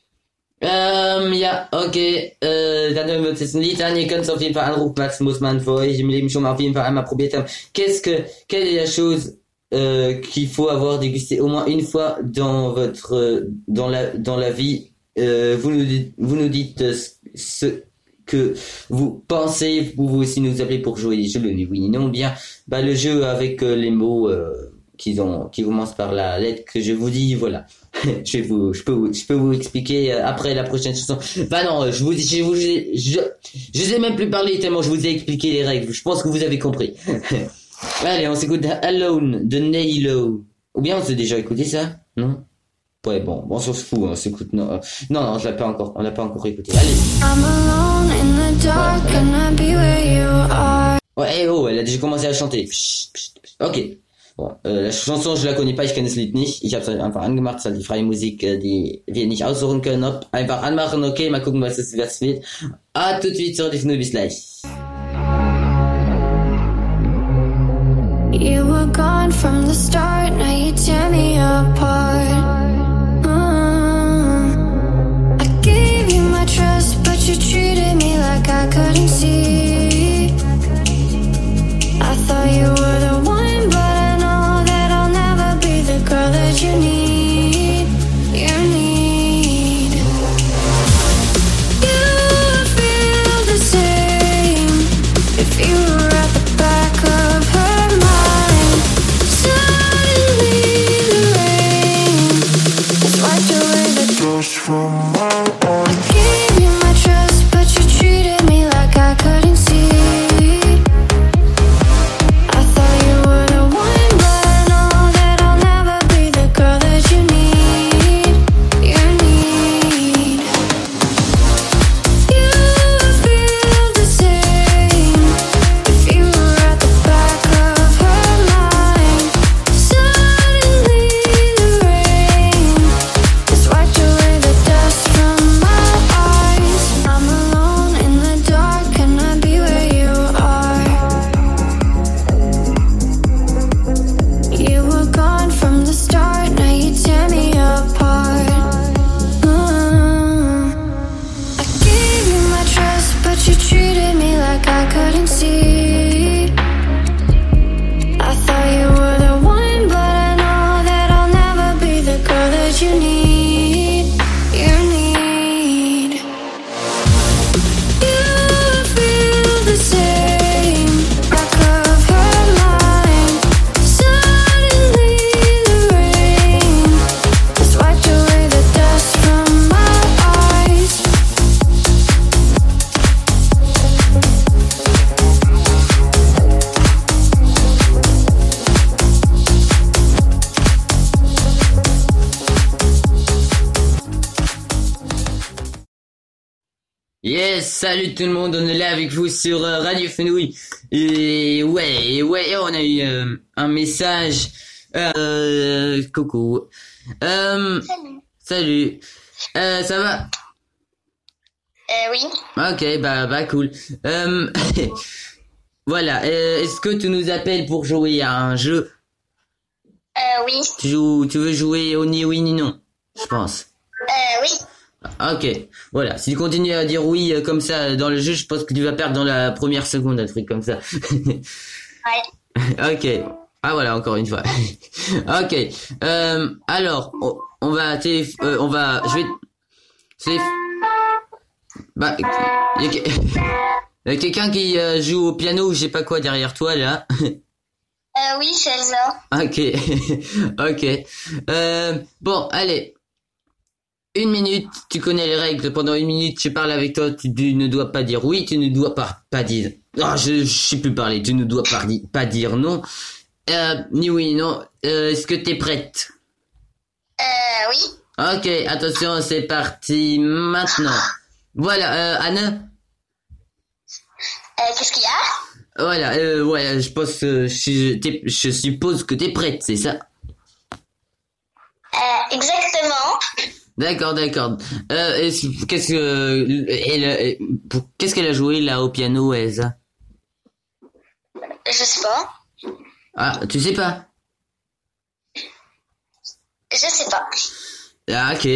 Ja, okay, dann hören wir uns jetzt ein Lied an. Ihr könnt es auf jeden Fall anrufen, was muss man für euch im Leben schon mal auf jeden Fall einmal probiert haben. Quelle est la chose qu'il faut avoir dégusté au moins une fois dans la vie? Vous nous dites ce que vous pensez. Vous pouvez aussi nous appeler pour jouer des jeux, le oui, non, bien, le jeu avec les mots qui commencent par la lettre que je vous dis, voilà. Je peux vous expliquer après la prochaine chanson. Bah non, je sais même plus parler tellement je vous ai expliqué les règles. Je pense que vous avez compris. Allez, on s'écoute Alone de Nailo. Ou bien on s'est déjà écouté ça? Non? Ouais, bon, on s'en fout, on s'écoute. Non, on l'a pas encore écouté. Allez. I'm alone in the dark, can I be where you are? Ouais, elle a déjà commencé à chanter. Ok. Bon, la Chanson, je la connais pas, ich kenne das Lied nicht. Ich habe es halt einfach angemacht, es ist halt die freie Musik, die wir nicht aussuchen können. Einfach anmachen, okay, mal gucken, was wird. Tout de suite sur die Fenouil, bis gleich. You were gone from the start, now you tear me apart. I gave you my trust, but you treated me like I couldn't see. I thought you were the one, but I know that I'll never be the girl that you need. You feel the same if you were at the back of her mind. Suddenly the rain has wiped away the dust from my eyes. I gave you my trust, but you treated me like I couldn't see. Eyes. Yes, salut tout le monde, on est là avec vous sur Radio Fenouil. Et ouais, on a eu un message. Coucou. Salut. Ça va? Oui. Ok, bah cool. Voilà, est-ce que tu nous appelles pour jouer à un jeu? Oui. Tu veux jouer au ni oui ni non, je pense. Oui. Ok, voilà. Si tu continues à dire oui comme ça dans le jeu, je pense que tu vas perdre dans la première seconde, un truc comme ça. Ouais. Ok. Ah voilà, encore une fois. Ok. Alors, je vais. Bah, il y a quelqu'un qui joue au piano ou je sais pas quoi derrière toi là. Oui, c'est Elsa. Ok. Ok. Bon, allez. 1 minute, tu connais les règles. Pendant 1 minute, je parle avec toi. Tu ne dois pas dire oui, tu ne dois pas dire. Oh, je sais plus parler. Tu ne dois pas dire non. Ni oui, ni non. Est-ce que t'es prête? Oui. Ok, attention, c'est parti maintenant. Voilà, Anne. Qu'est-ce qu'il y a? Voilà, ouais, je pense que je suppose que t'es prête, c'est ça? Exactement. D'accord. Qu'est-ce qu'elle a joué là au piano, Elsa? Je sais pas. Ah, tu sais pas? Je sais pas. Ah, ok.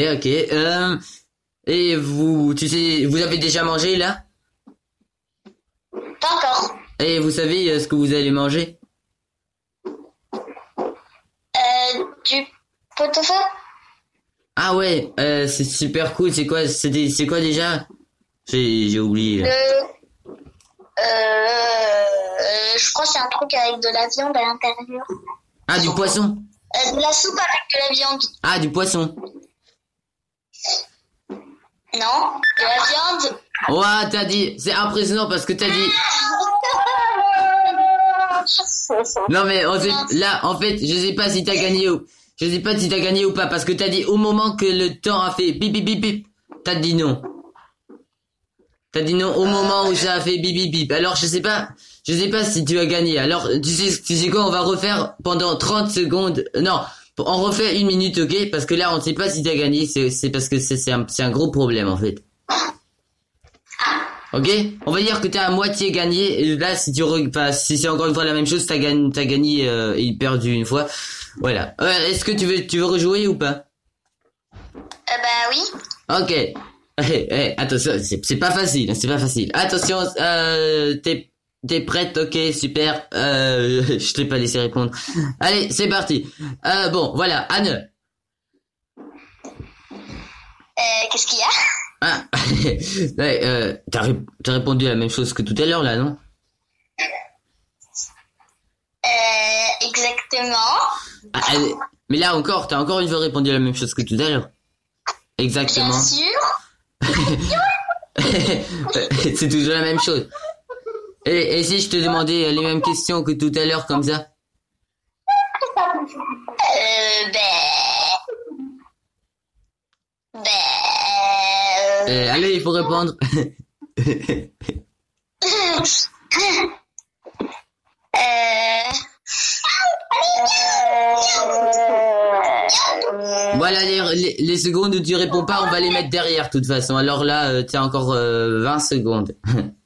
Et vous avez déjà mangé là? Pas encore. Et vous savez ce que vous allez manger? Du pot-au-feu? Ah ouais, c'est super cool. C'est quoi déjà? J'ai oublié. Je crois que c'est un truc avec de la viande à l'intérieur. Ah, du poisson? De la soupe avec de la viande. Ah, du poisson. Non, de la viande. Ouais, t'as dit. C'est impressionnant parce que t'as dit. Non mais là, en fait, je sais pas si t'as gagné ou pas parce que t'as dit au moment que le temps a fait bip bip bip bip. T'as dit non. T'as dit non au moment où ça a fait bip bip bip. Alors je sais pas si tu as gagné. Alors tu sais quoi, on va refaire pendant 30 secondes. Non, on refait 1 minute, ok? Parce que là on sait pas si t'as gagné. C'est parce que c'est un gros problème en fait. Ok, on va dire que t'as à moitié gagné. Et là, si c'est encore une fois la même chose, t'as gagné et perdu une fois. Voilà. Est-ce que tu veux rejouer ou pas? Bah oui. Ok. Attention, c'est pas facile. Attention, t'es prête? Ok, super. Je t'ai pas laissé répondre. Allez, c'est parti. Bon, voilà, Anne. Qu'est-ce qu'il y a? Ah, ouais, t'as répondu à la même chose que tout à l'heure là, non? Exactement. Mais là encore, t'as encore une fois répondu à la même chose que tout à l'heure. Exactement. Bien sûr. C'est toujours la même chose. Et si je te demandais les mêmes questions que tout à l'heure comme ça? Allez, il faut répondre. Voilà, les secondes où tu réponds pas, on va les mettre derrière, de toute façon. Alors là, t'as encore 20 secondes.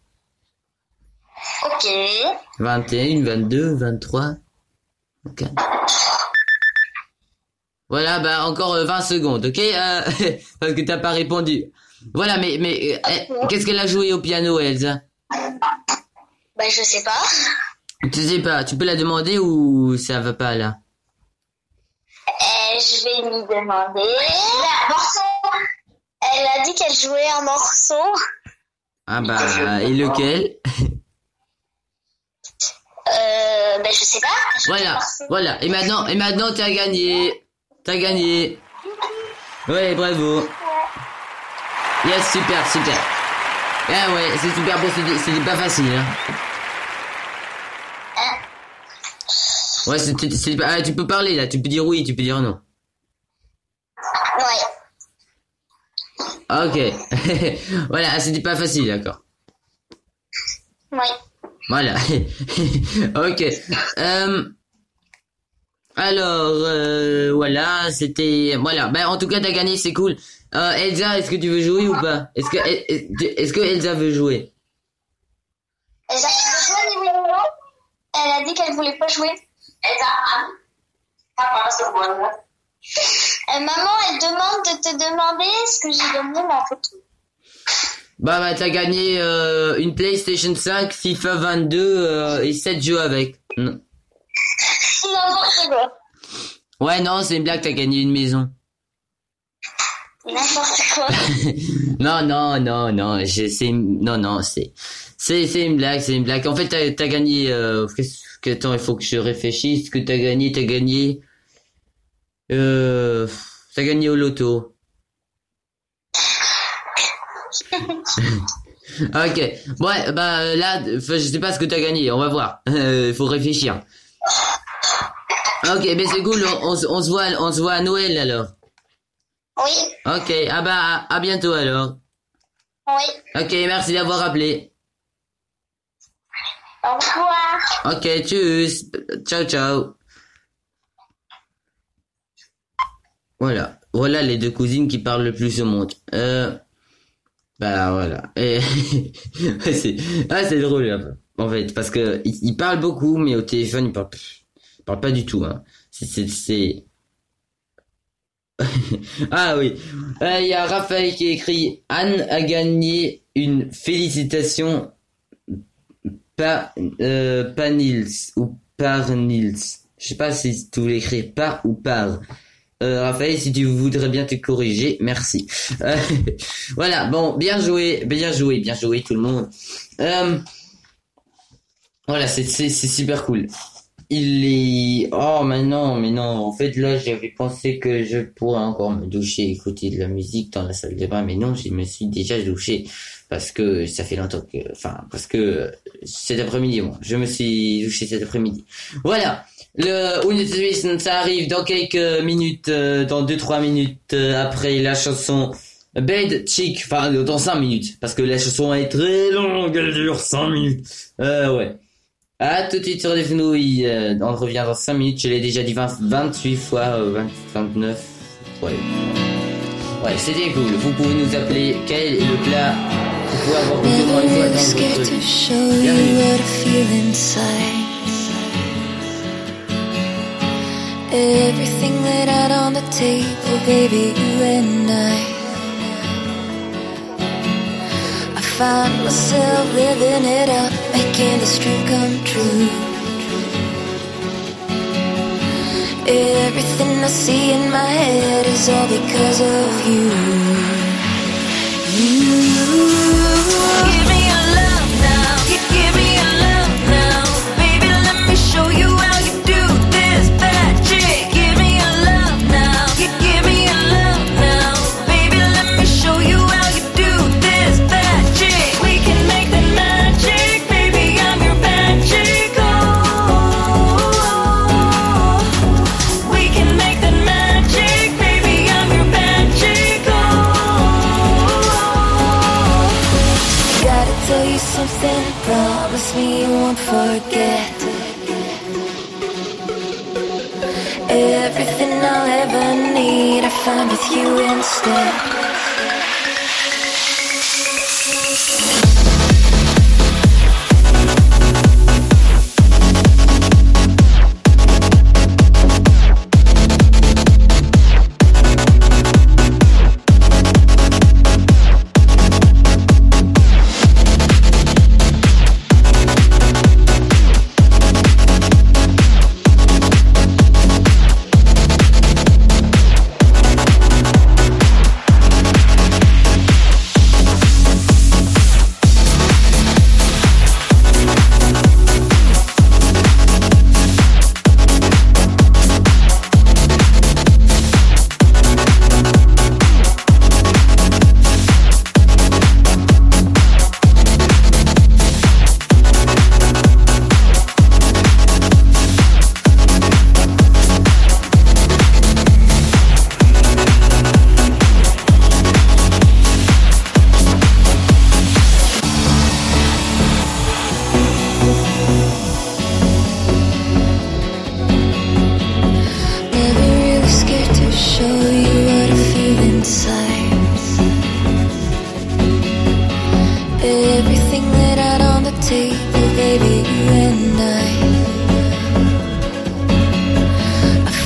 Ok. 21, 22, 23. Ok. Voilà, bah encore 20 secondes, ok? Parce que t'as pas répondu. Voilà, mais qu'est-ce qu'elle a joué au piano, Elsa? Bah je sais pas. Tu sais pas, tu peux la demander ou ça va pas là? Je vais lui demander. Un morceau. Elle a dit qu'elle jouait un morceau. Ah bah, et lequel? Ben je sais pas. Voilà. Et maintenant t'as gagné. Ouais, bravo. Yes, super. Ah ouais, c'est super beau, c'était pas facile, hein. Ouais, c'est pas... Ah, tu peux parler, là, tu peux dire oui, tu peux dire non. Ouais. Ok. Voilà, c'était pas facile, d'accord. Oui. Voilà. Ok. Alors, voilà, c'était... Voilà, ben en tout cas, t'as gagné, c'est cool. Elsa, est-ce que tu veux jouer ou pas? Est-ce que Elsa veut jouer? Elsa, tu veux jouer au niveau numéro? Elle a dit qu'elle voulait pas jouer. Elsa, maman, elle demande de te demander ce que j'ai gagné, mais en fait... Bah, t'as gagné une PlayStation 5, FIFA 22 et 7 jeux avec. Non. N'importe quoi. Ouais, non, c'est une blague, t'as gagné une maison. N'importe quoi. Non, c'est une blague, c'est une blague. En fait, t'as gagné, attends, il faut que je réfléchisse. Ce que t'as gagné, t'as gagné au loto. Ok. Ouais, bah, là, je sais pas ce que t'as gagné, on va voir. Faut réfléchir. Ok, mais c'est cool, on se voit à Noël, alors. Oui. Ok, ah bah, à bientôt, alors. Oui. Ok, merci d'avoir appelé. Au revoir. Ok, tchuss. Ciao, ciao. Voilà les deux cousines qui parlent le plus au monde. Bah voilà. Et c'est drôle hein, en fait parce que ils parlent beaucoup mais au téléphone ils parlent pas du tout hein. C'est Ah oui. Il y a Raphaël qui écrit Anne a gagné une félicitation pas Nils ou par Nils. Je sais pas si tu voulais écrire par ou par. Raphaël, si tu voudrais bien te corriger, merci. Voilà, bon, bien joué tout le monde. Voilà, c'est super cool. mais non, en fait là j'avais pensé que je pourrais encore me doucher, écouter de la musique dans la salle de bain, mais non, je me suis déjà douché parce que ça fait longtemps parce que cet après-midi, je me suis douché cet après-midi. Voilà. Le Unitwissen, ça arrive dans quelques minutes, dans 2-3 minutes après la chanson Bad Chick, enfin dans 5 minutes, parce que la chanson est très longue, elle dure 5 minutes. Ouais. À tout de suite sur les fenouilles, on revient dans 5 minutes, je l'ai déjà dit 28 fois, 29, ouais, c'était cool. Vous pouvez nous appeler, quel est le plat vous pouvez avoir plus ou moins une fois dans votre vie. Bienvenue. Everything laid out on the table, baby, you and I find myself living it up, making this dream come true. Everything I see in my head is all because of you. Give me your love now, give me your love now, baby, let me show you how you do this bad chick. Give me your love now, give me your love now, baby, let me show you how you do this bad chick. We can make the magic, baby, I'm your bad chick. Oh, we can make the magic, baby, I'm your bad chick. Oh, gotta tell you something, promise me you won't forget. Everything I'll ever need, I find with you instead.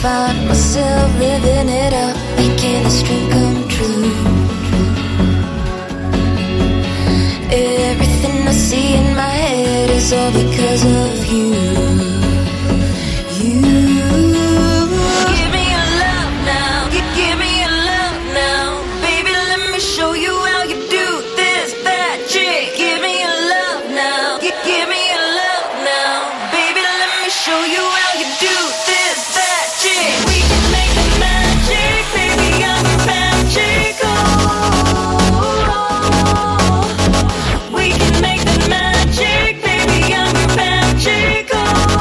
find myself living it up, making this dream come true. Everything I see in my head is all because of you. Give me your love now. Give me your love now. Baby, let me show you how you do this magic. Give me your love now. Give me your love now. Baby, let me show you how you do this magic. We can make the magic, baby, I'm magical. We can make the magic, baby, I'm magical.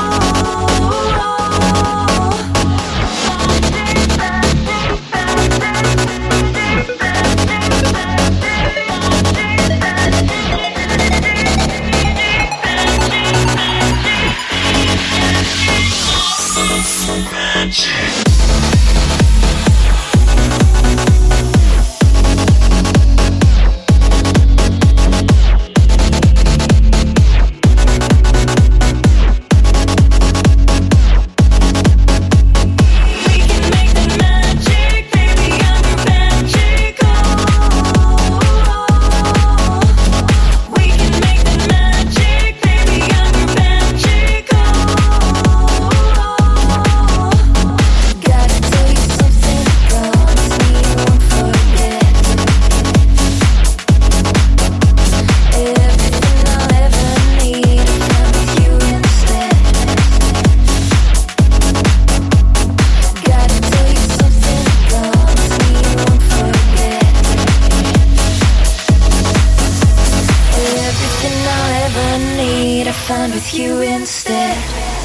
Find with you instead.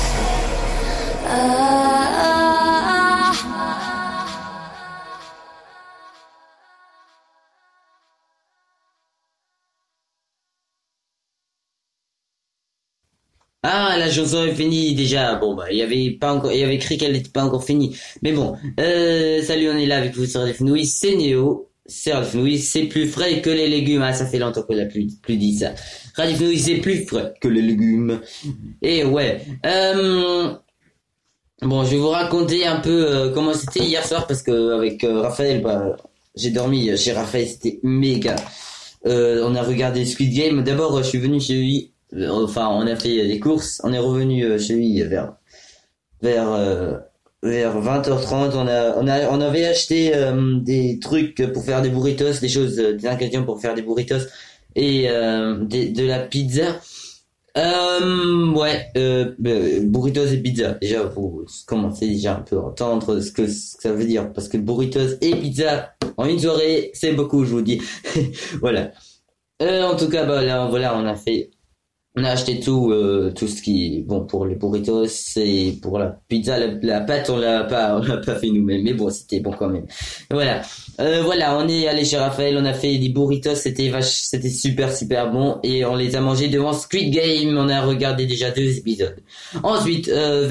Ah, la chanson est finie déjà. Bon, bah, il y avait écrit qu'elle n'était pas encore finie. Mais bon, salut, on est là avec vous sur Radio Fenouil, c'est Néo. C'est Radio Fenouil, c'est plus frais que les légumes. Ah, ça fait longtemps qu'on l'a plus dit ça. Radio Fenouil, c'est plus frais que les légumes. Et ouais. Bon, je vais vous raconter un peu comment c'était hier soir parce que avec Raphaël, bah, j'ai dormi chez Raphaël, c'était méga. On a regardé Squid Game. D'abord, je suis venu chez lui. Enfin, on a fait des courses. On est revenu chez lui vers 20h30. On avait acheté des trucs pour faire des burritos, des ingrédients pour faire des burritos et de la pizza. Burritos et pizza. Déjà, vous commencez déjà un peu à entendre ce que ça veut dire parce que burritos et pizza en une soirée, c'est beaucoup, je vous dis. Voilà. En tout cas, bah là, voilà, on a acheté tout ce qui bon pour les burritos et pour la pizza, la pâte on l'a pas fait nous-mêmes, mais bon c'était bon quand même. Voilà, on est allé chez Raphaël, on a fait des burritos, c'était super bon et on les a mangés devant Squid Game, on a regardé déjà 2 épisodes. Ensuite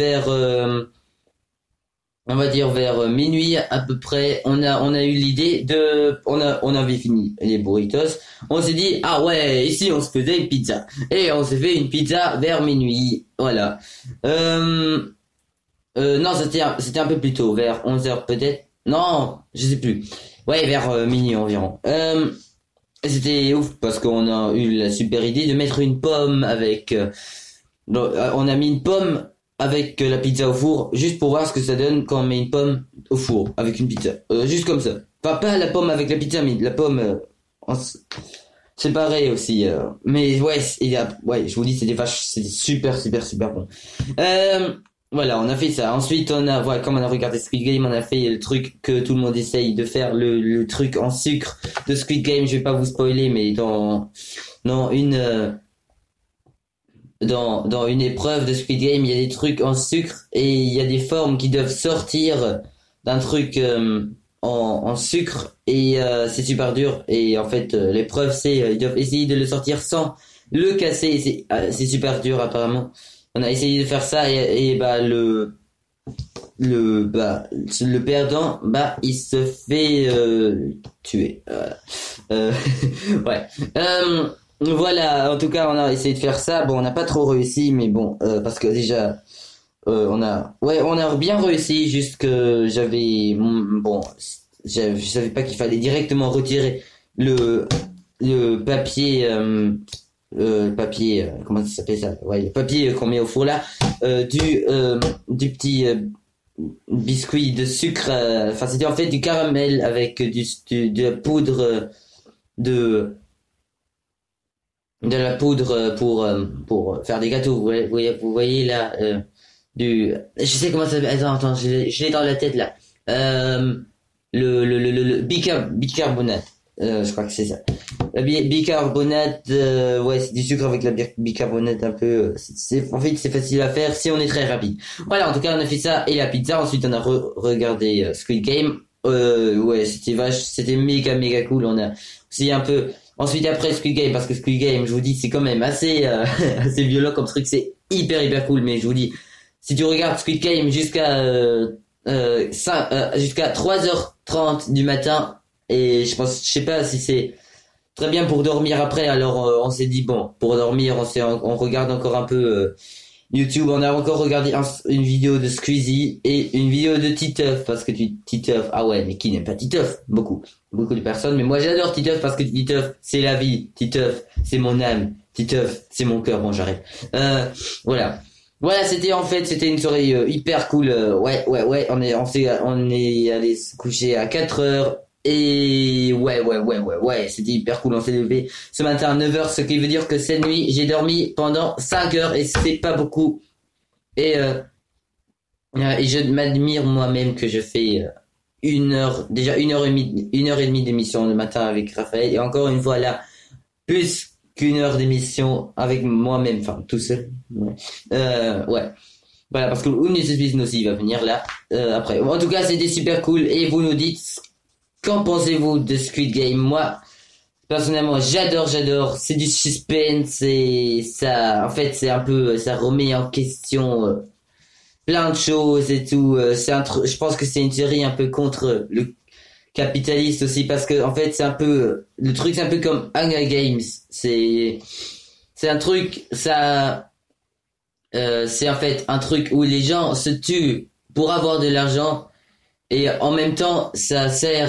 on va dire vers minuit à peu près, on a eu l'idée on avait fini les burritos, on s'est dit ah ouais, ici on se faisait une pizza et on s'est fait une pizza vers minuit, voilà. Non, c'était un peu plus tôt, vers 11h peut-être. Non, je sais plus. Ouais, vers minuit environ. C'était ouf parce qu'on a eu la super idée de mettre une pomme avec on a mis une pomme avec la pizza au four, juste pour voir ce que ça donne quand on met une pomme au four avec une pizza. Juste comme ça. Enfin, pas la pomme avec la pizza, mais la pomme c'est pareil aussi. Mais ouais, je vous dis, c'était super bon. Voilà, on a fait ça. Ensuite, comme on a regardé Squid Game, on a fait le truc que tout le monde essaye de faire, le truc en sucre de Squid Game. Je vais pas vous spoiler, mais dans une épreuve de Squid Game, il y a des trucs en sucre et il y a des formes qui doivent sortir d'un truc en sucre et c'est super dur et en fait l'épreuve c'est ils doivent essayer de le sortir sans le casser, c'est super dur apparemment. On a essayé de faire ça et bah le perdant il se fait tuer. Ouais. Voilà, en tout cas, on a essayé de faire ça. Bon, on n'a pas trop réussi, mais bon, parce que déjà, on a bien réussi, juste que je savais pas qu'il fallait directement retirer le papier, comment ça s'appelle ça? Ouais, le papier qu'on met au four là, du petit biscuit de sucre, enfin c'était en fait du caramel avec de la poudre de la poudre pour faire des gâteaux. Vous voyez là, je sais comment ça s'appelle. Attends, je l'ai dans la tête là. Le bicarbonate. Je crois que c'est ça. Le bicarbonate, ouais, c'est du sucre avec la bicarbonate un peu. En fait, c'est facile à faire si on est très rapide. Voilà, en tout cas, on a fait ça et la pizza. Ensuite, on a regardé Squid Game. Ouais, c'était méga cool. On a aussi un peu. Ensuite, après Squid Game, parce que Squid Game, je vous dis, c'est quand même assez violent comme truc. C'est hyper cool, mais je vous dis, si tu regardes Squid Game jusqu'à 3h30 du matin. Et je sais pas si c'est très bien pour dormir après. Alors on s'est dit bon, pour dormir, on regarde encore un peu YouTube. On a encore regardé une vidéo de Squeezie et une vidéo de Titeuf parce que Titeuf, ah ouais, mais qui n'aime pas Titeuf? Beaucoup de personnes. Mais moi j'adore Titeuf parce que Titeuf c'est la vie. Titeuf c'est mon âme. Titeuf c'est mon cœur. Bon, j'arrête. Voilà, c'était une soirée hyper cool. Ouais. On est allé se coucher à 4h. Et ouais, c'était hyper cool. On s'est levé ce matin à 9h, ce qui veut dire que cette nuit, j'ai dormi pendant 5 heures et c'est pas beaucoup. Et je m'admire moi-même que je fais 1h30 d'émission le matin avec Raphaël. Et encore une fois là, plus qu'1 heure d'émission avec moi-même, enfin tout seul. Ouais. Voilà, parce que Unisbusiness aussi va venir là après. En tout cas, c'était super cool et vous nous dites qu'en pensez-vous de Squid Game? Moi, personnellement, j'adore. C'est du suspense et ça, en fait, c'est un peu, ça remet en question plein de choses et tout. Je pense que c'est une série un peu contre le capitaliste aussi parce que en fait, c'est un peu le truc, c'est un peu comme Hunger Games. C'est un truc, ça, c'est en fait un truc où les gens se tuent pour avoir de l'argent. Et en même temps, ça sert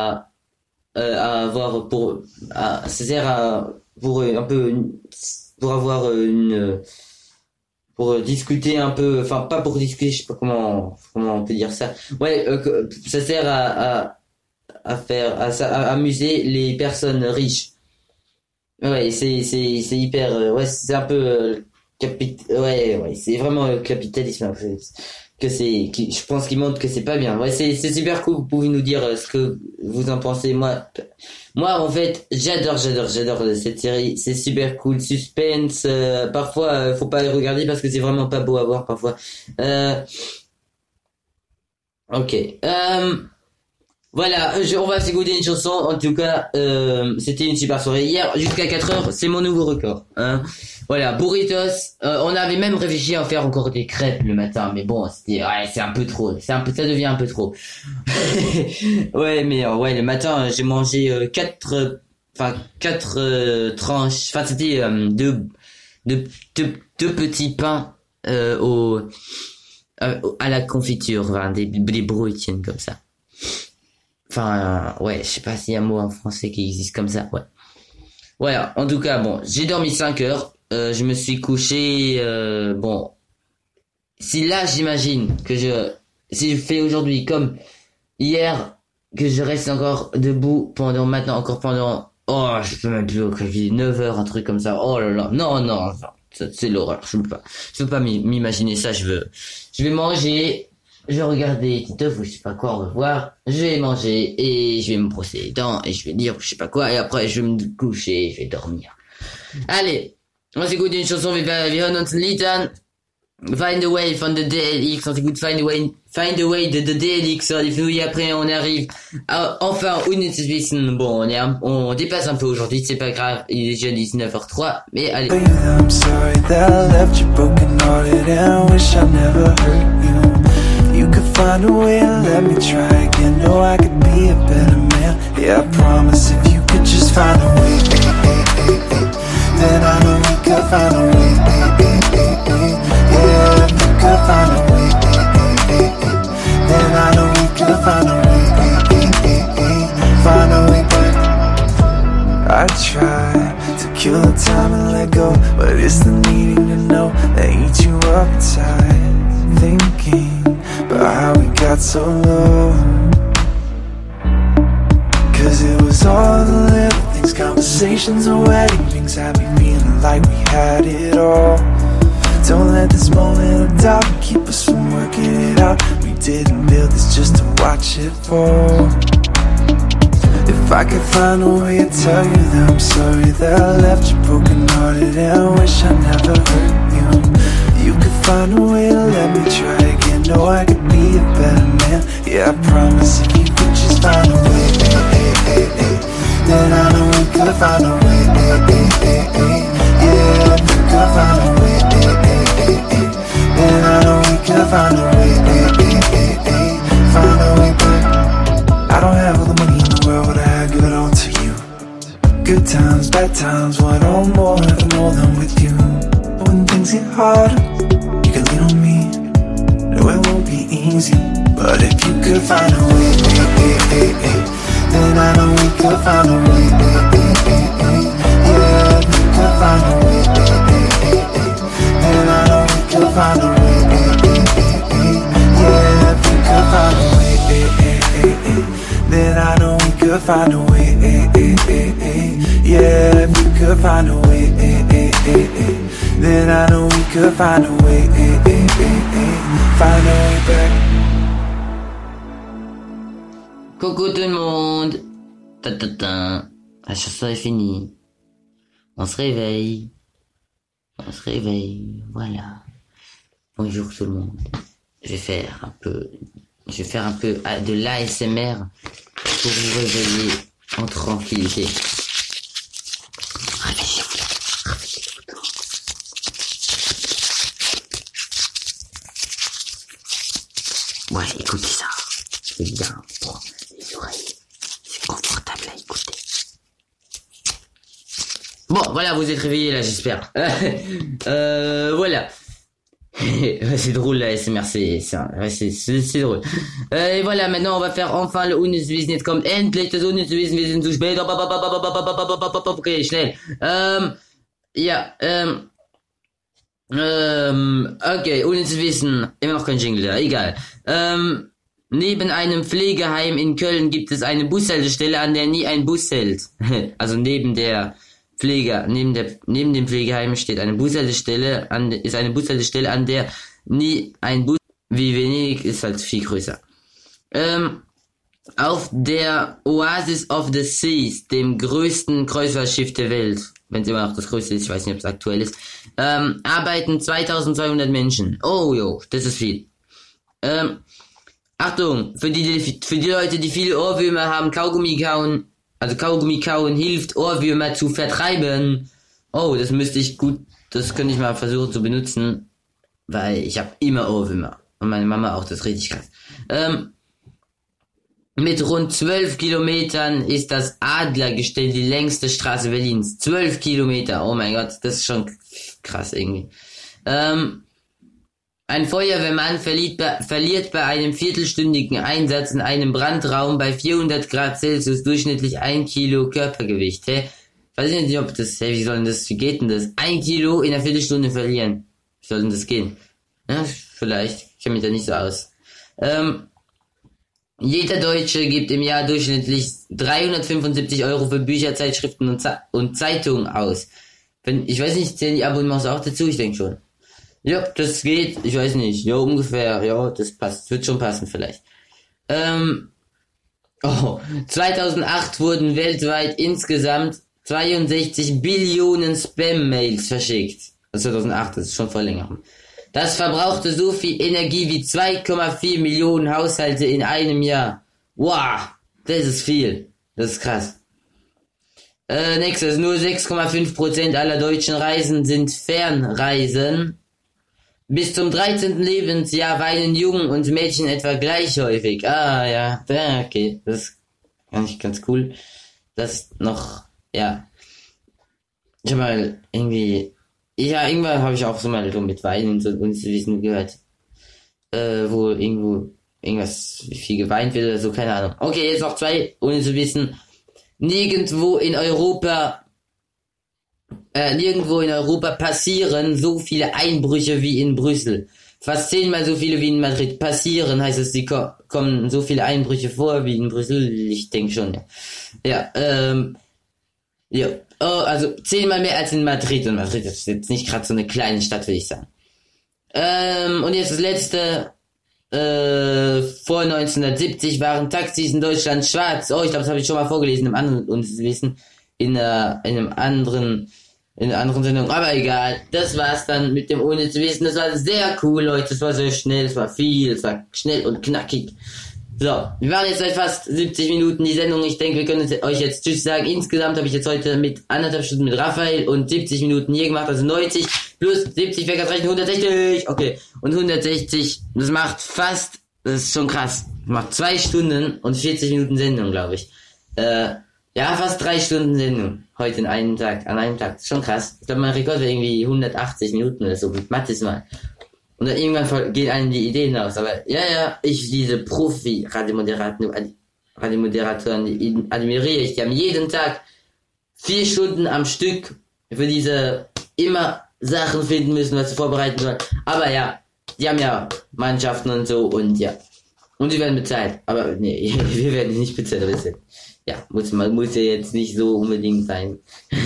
pour discuter un peu, enfin pas pour discuter, je sais pas comment on peut dire ça. Ouais, ça sert à amuser les personnes riches. Ouais, c'est hyper, ouais, c'est un peu ouais, c'est vraiment le capitalisme en fait. Je pense qu'il montre que c'est pas bien. Ouais, c'est super cool. Vous pouvez nous dire ce que vous en pensez. Moi, en fait, j'adore cette série. C'est super cool. Suspense. Parfois, faut pas les regarder parce que c'est vraiment pas beau à voir parfois. Ok. Voilà, on va s'écouter une chanson. En tout cas, c'était une super soirée hier. Jusqu'à 4h, c'est mon nouveau record. Hein. Voilà, burritos. On avait même réfléchi à faire encore des crêpes le matin, mais bon, c'est un peu trop. Ça devient un peu trop. Ouais, mais ouais, le matin, j'ai mangé 4 tranches. Enfin, c'était deux petits pains à la confiture, enfin, des brötchen comme ça. Enfin, ouais, je sais pas s'il y a un mot en français qui existe comme ça, ouais. Voilà, en tout cas, bon, j'ai dormi 5 heures, je me suis couché, bon, si là, j'imagine que si je fais aujourd'hui comme hier, que je reste encore debout oh, je peux même plus, 9 heures, un truc comme ça, oh là là, non, c'est l'horreur, je peux pas m'imaginer ça, je vais manger, je vais regarder Titeuf ou je sais pas quoi, au revoir, je vais manger et je vais me brosser les dents et je vais dire je sais pas quoi et après je vais me coucher, je vais dormir. Allez, on s'écoute une chanson, wir hören uns ein Lied an. Find a Way von the DLX, on s'écoute Find a Way de the DLX, et après on arrive enfin Uniswissen. Bon, on dépasse un peu aujourd'hui, c'est pas grave, il est déjà 19h03, mais allez. I'm sorry that I left you broken hearted and wish I never hurt you. You could find a way to let me try again. Know I could be a better man. Yeah, I promise if you could just find a way, then I know we could find a way. Yeah, if you could find a way. try to kill the time and let go, but it's the needing to know that eats you up inside. Thinking about how we got so low, 'cause it was all the little things, conversations and wedding rings had me feeling like we had it all. Don't let this moment of doubt keep us from working it out. We didn't build this just to watch it fall. If I could find a way to tell you that I'm sorry that I left you broken hearted and I wish I never hurt you. You could find a way to let me try again. Know I could be a better man. Yeah, I promise if you could just find a way, then I know we could find a way, yeah, if you could find a way, then I know we could find a way, find a way back. I don't have all the money in the world, but I give it all to you. Good times, bad times, want all more, ever more than with you. But when things get harder, you can lean on me. No, it won't be easy, but if you could find a way, then I know we could find a way, yeah, if you could find a way, then I know we could find a way, yeah, if you could find a way, then I know we could find a way, yeah, if you could find a way, then I know we could find a way, find a way back. Coucou tout le monde. La chanson est finie. On se réveille. Voilà. Bonjour tout le monde. Je vais faire un peu de l'ASMR pour vous réveiller en tranquillité. Réveillez-vous. Ouais, écoutez ça. C'est bien pour les oreilles. C'est confortable à écouter. Bon, voilà, vous êtes réveillés là, j'espère. Voilà. C'est drôle la SMR, c'est drôle. Et voilà, maintenant on va faire enfin le Unnützwissen. Jetzt kommt endlich das Unnützwissen, wir sind zu spät. Okay, schnell. Ja, okay, Unnützwissen. Immer noch kein Jingle, ja, egal. Neben einem Pflegeheim in Köln gibt es eine Bushaltestelle, an der nie ein Bus hält. Also neben dem Pflegeheim steht eine Bushaltestelle, ist eine Bushaltestelle, an der nie ein Bus, wie wenig, ist halt viel größer. Auf der Oasis of the Seas, dem größten Kreuzfahrtschiff der Welt, wenn es immer noch das größte ist, ich weiß nicht, ob es aktuell ist, arbeiten 2200 Menschen. Oh, jo, das ist viel. Achtung, für die Leute, die viele Ohrwürmer haben, Kaugummi kauen hilft, Ohrwürmer zu vertreiben. Oh, das könnte ich mal versuchen zu benutzen, weil ich habe immer Ohrwürmer. Und meine Mama auch, das ist richtig krass. Mit rund 12 Kilometern ist das Adlergestell die längste Straße Berlins. 12 Kilometer, oh mein Gott, das ist schon krass irgendwie. Ein Feuerwehrmann verliert bei einem viertelstündigen Einsatz in einem Brandraum bei 400 Grad Celsius durchschnittlich 1 Kilo Körpergewicht. Hä? Weiß ich nicht, wie geht denn das? 1 Kilo in einer Viertelstunde verlieren. Wie soll denn das gehen? Ja, vielleicht. Ich kenne mich da nicht so aus. Jeder Deutsche gibt im Jahr durchschnittlich 375 € für Bücher, Zeitschriften und Zeitungen aus. Ich weiß nicht, zählen die Abonnements auch dazu? Ich denke schon. Ja, das geht, ich weiß nicht, ja, ungefähr, ja, das passt, wird schon passen vielleicht. 2008 wurden weltweit insgesamt 62 Billionen Spam-Mails verschickt. Also 2008, das ist schon vor längerem. Das verbrauchte so viel Energie wie 2,4 Millionen Haushalte in einem Jahr. Wow, das ist viel, das ist krass. Nächstes, nur 6,5% aller deutschen Reisen sind Fernreisen. Bis zum 13. Lebensjahr weinen Jungen und Mädchen etwa gleich häufig. Ah, ja, okay, das ist eigentlich ganz cool. Das noch, ja. Ich habe mal irgendwann habe ich auch so mal so mit Weinen so Unwissen gehört. Wo irgendwas, wie viel geweint wird oder so, keine Ahnung. Okay, jetzt noch 2, ohne zu wissen. Nirgendwo in Europa nirgendwo in Europa passieren so viele Einbrüche wie in Brüssel. Fast 10-mal so viele wie in Madrid. Passieren heißt es, die kommen so viele Einbrüche vor wie in Brüssel. Ich denke schon, ja. Ja. Oh, also 10-mal mehr als in Madrid. Und Madrid ist jetzt nicht gerade so eine kleine Stadt, würde ich sagen. Und jetzt das letzte. Vor 1970 waren Taxis in Deutschland schwarz. Oh, ich glaube, das habe ich schon mal vorgelesen im anderen Unwissen. In einem anderen Sendung. Aber egal. Das war's dann mit dem Ohne zu wissen. Das war sehr cool, Leute. Es war sehr schnell. Es war viel. Es war schnell und knackig. So. Wir waren jetzt seit fast 70 Minuten die Sendung. Ich denke, wir können euch jetzt Tschüss sagen. Insgesamt habe ich jetzt heute mit 1,5 Stunden mit Raphael und 70 Minuten hier gemacht. Also 90 plus 70, wer kann rechnen? 160. Okay. Und 160, das macht fast, das ist schon krass. Das macht 2 Stunden und 40 Minuten Sendung, glaube ich. Ja, fast 3 Stunden Sendung. Heute an einem Tag. Das ist schon krass. Ich glaube, mein Rekord wäre irgendwie 180 Minuten oder so. Mit Mathis mal. Und dann irgendwann gehen einem die Ideen aus. Aber ja, diese Profi-Radiomoderatoren, die admiriere ich. Die haben jeden Tag 4 Stunden am Stück für diese immer Sachen finden müssen, was sie vorbereiten sollen. Aber ja, die haben ja Mannschaften und so und ja. Und sie werden bezahlt. Aber nee, wir werden nicht bezahlt. Ja, muss ja jetzt nicht so unbedingt sein.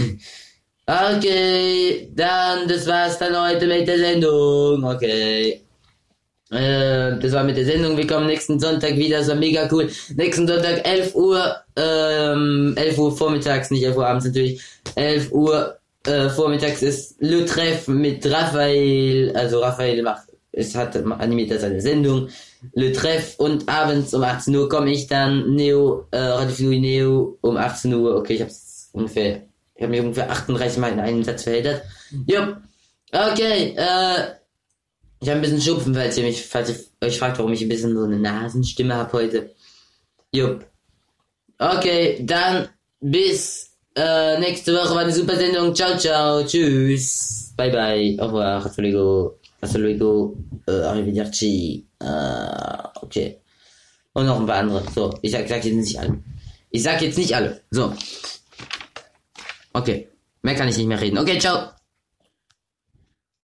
Okay, dann, das war's dann heute mit der Sendung. Okay. Das war mit der Sendung. Wir kommen nächsten Sonntag wieder. Das war mega cool. Nächsten Sonntag 11 Uhr, 11 Uhr vormittags, nicht 11 Uhr abends natürlich. 11 Uhr vormittags ist Le Treff mit Raphael. Also Raphael animiert das eine Sendung. Le Treff und abends um 18 Uhr komme ich dann Radio Fenouil Neo um 18 Uhr. Okay, ich habe mich ungefähr 38 Mal in einem Satz verheddert. Jupp. Okay, ich habe ein bisschen Schupfen, falls ihr euch fragt, warum ich ein bisschen so eine Nasenstimme habe heute. Jupp. Okay, dann bis nächste Woche war eine super Sendung. Ciao, ciao, tschüss. Bye, bye. Au revoir. Hasta luego. Arrivederci. Okay. Und noch ein paar andere. So, ich sag jetzt nicht alle. So. Okay. Mehr kann ich nicht mehr reden. Okay, ciao.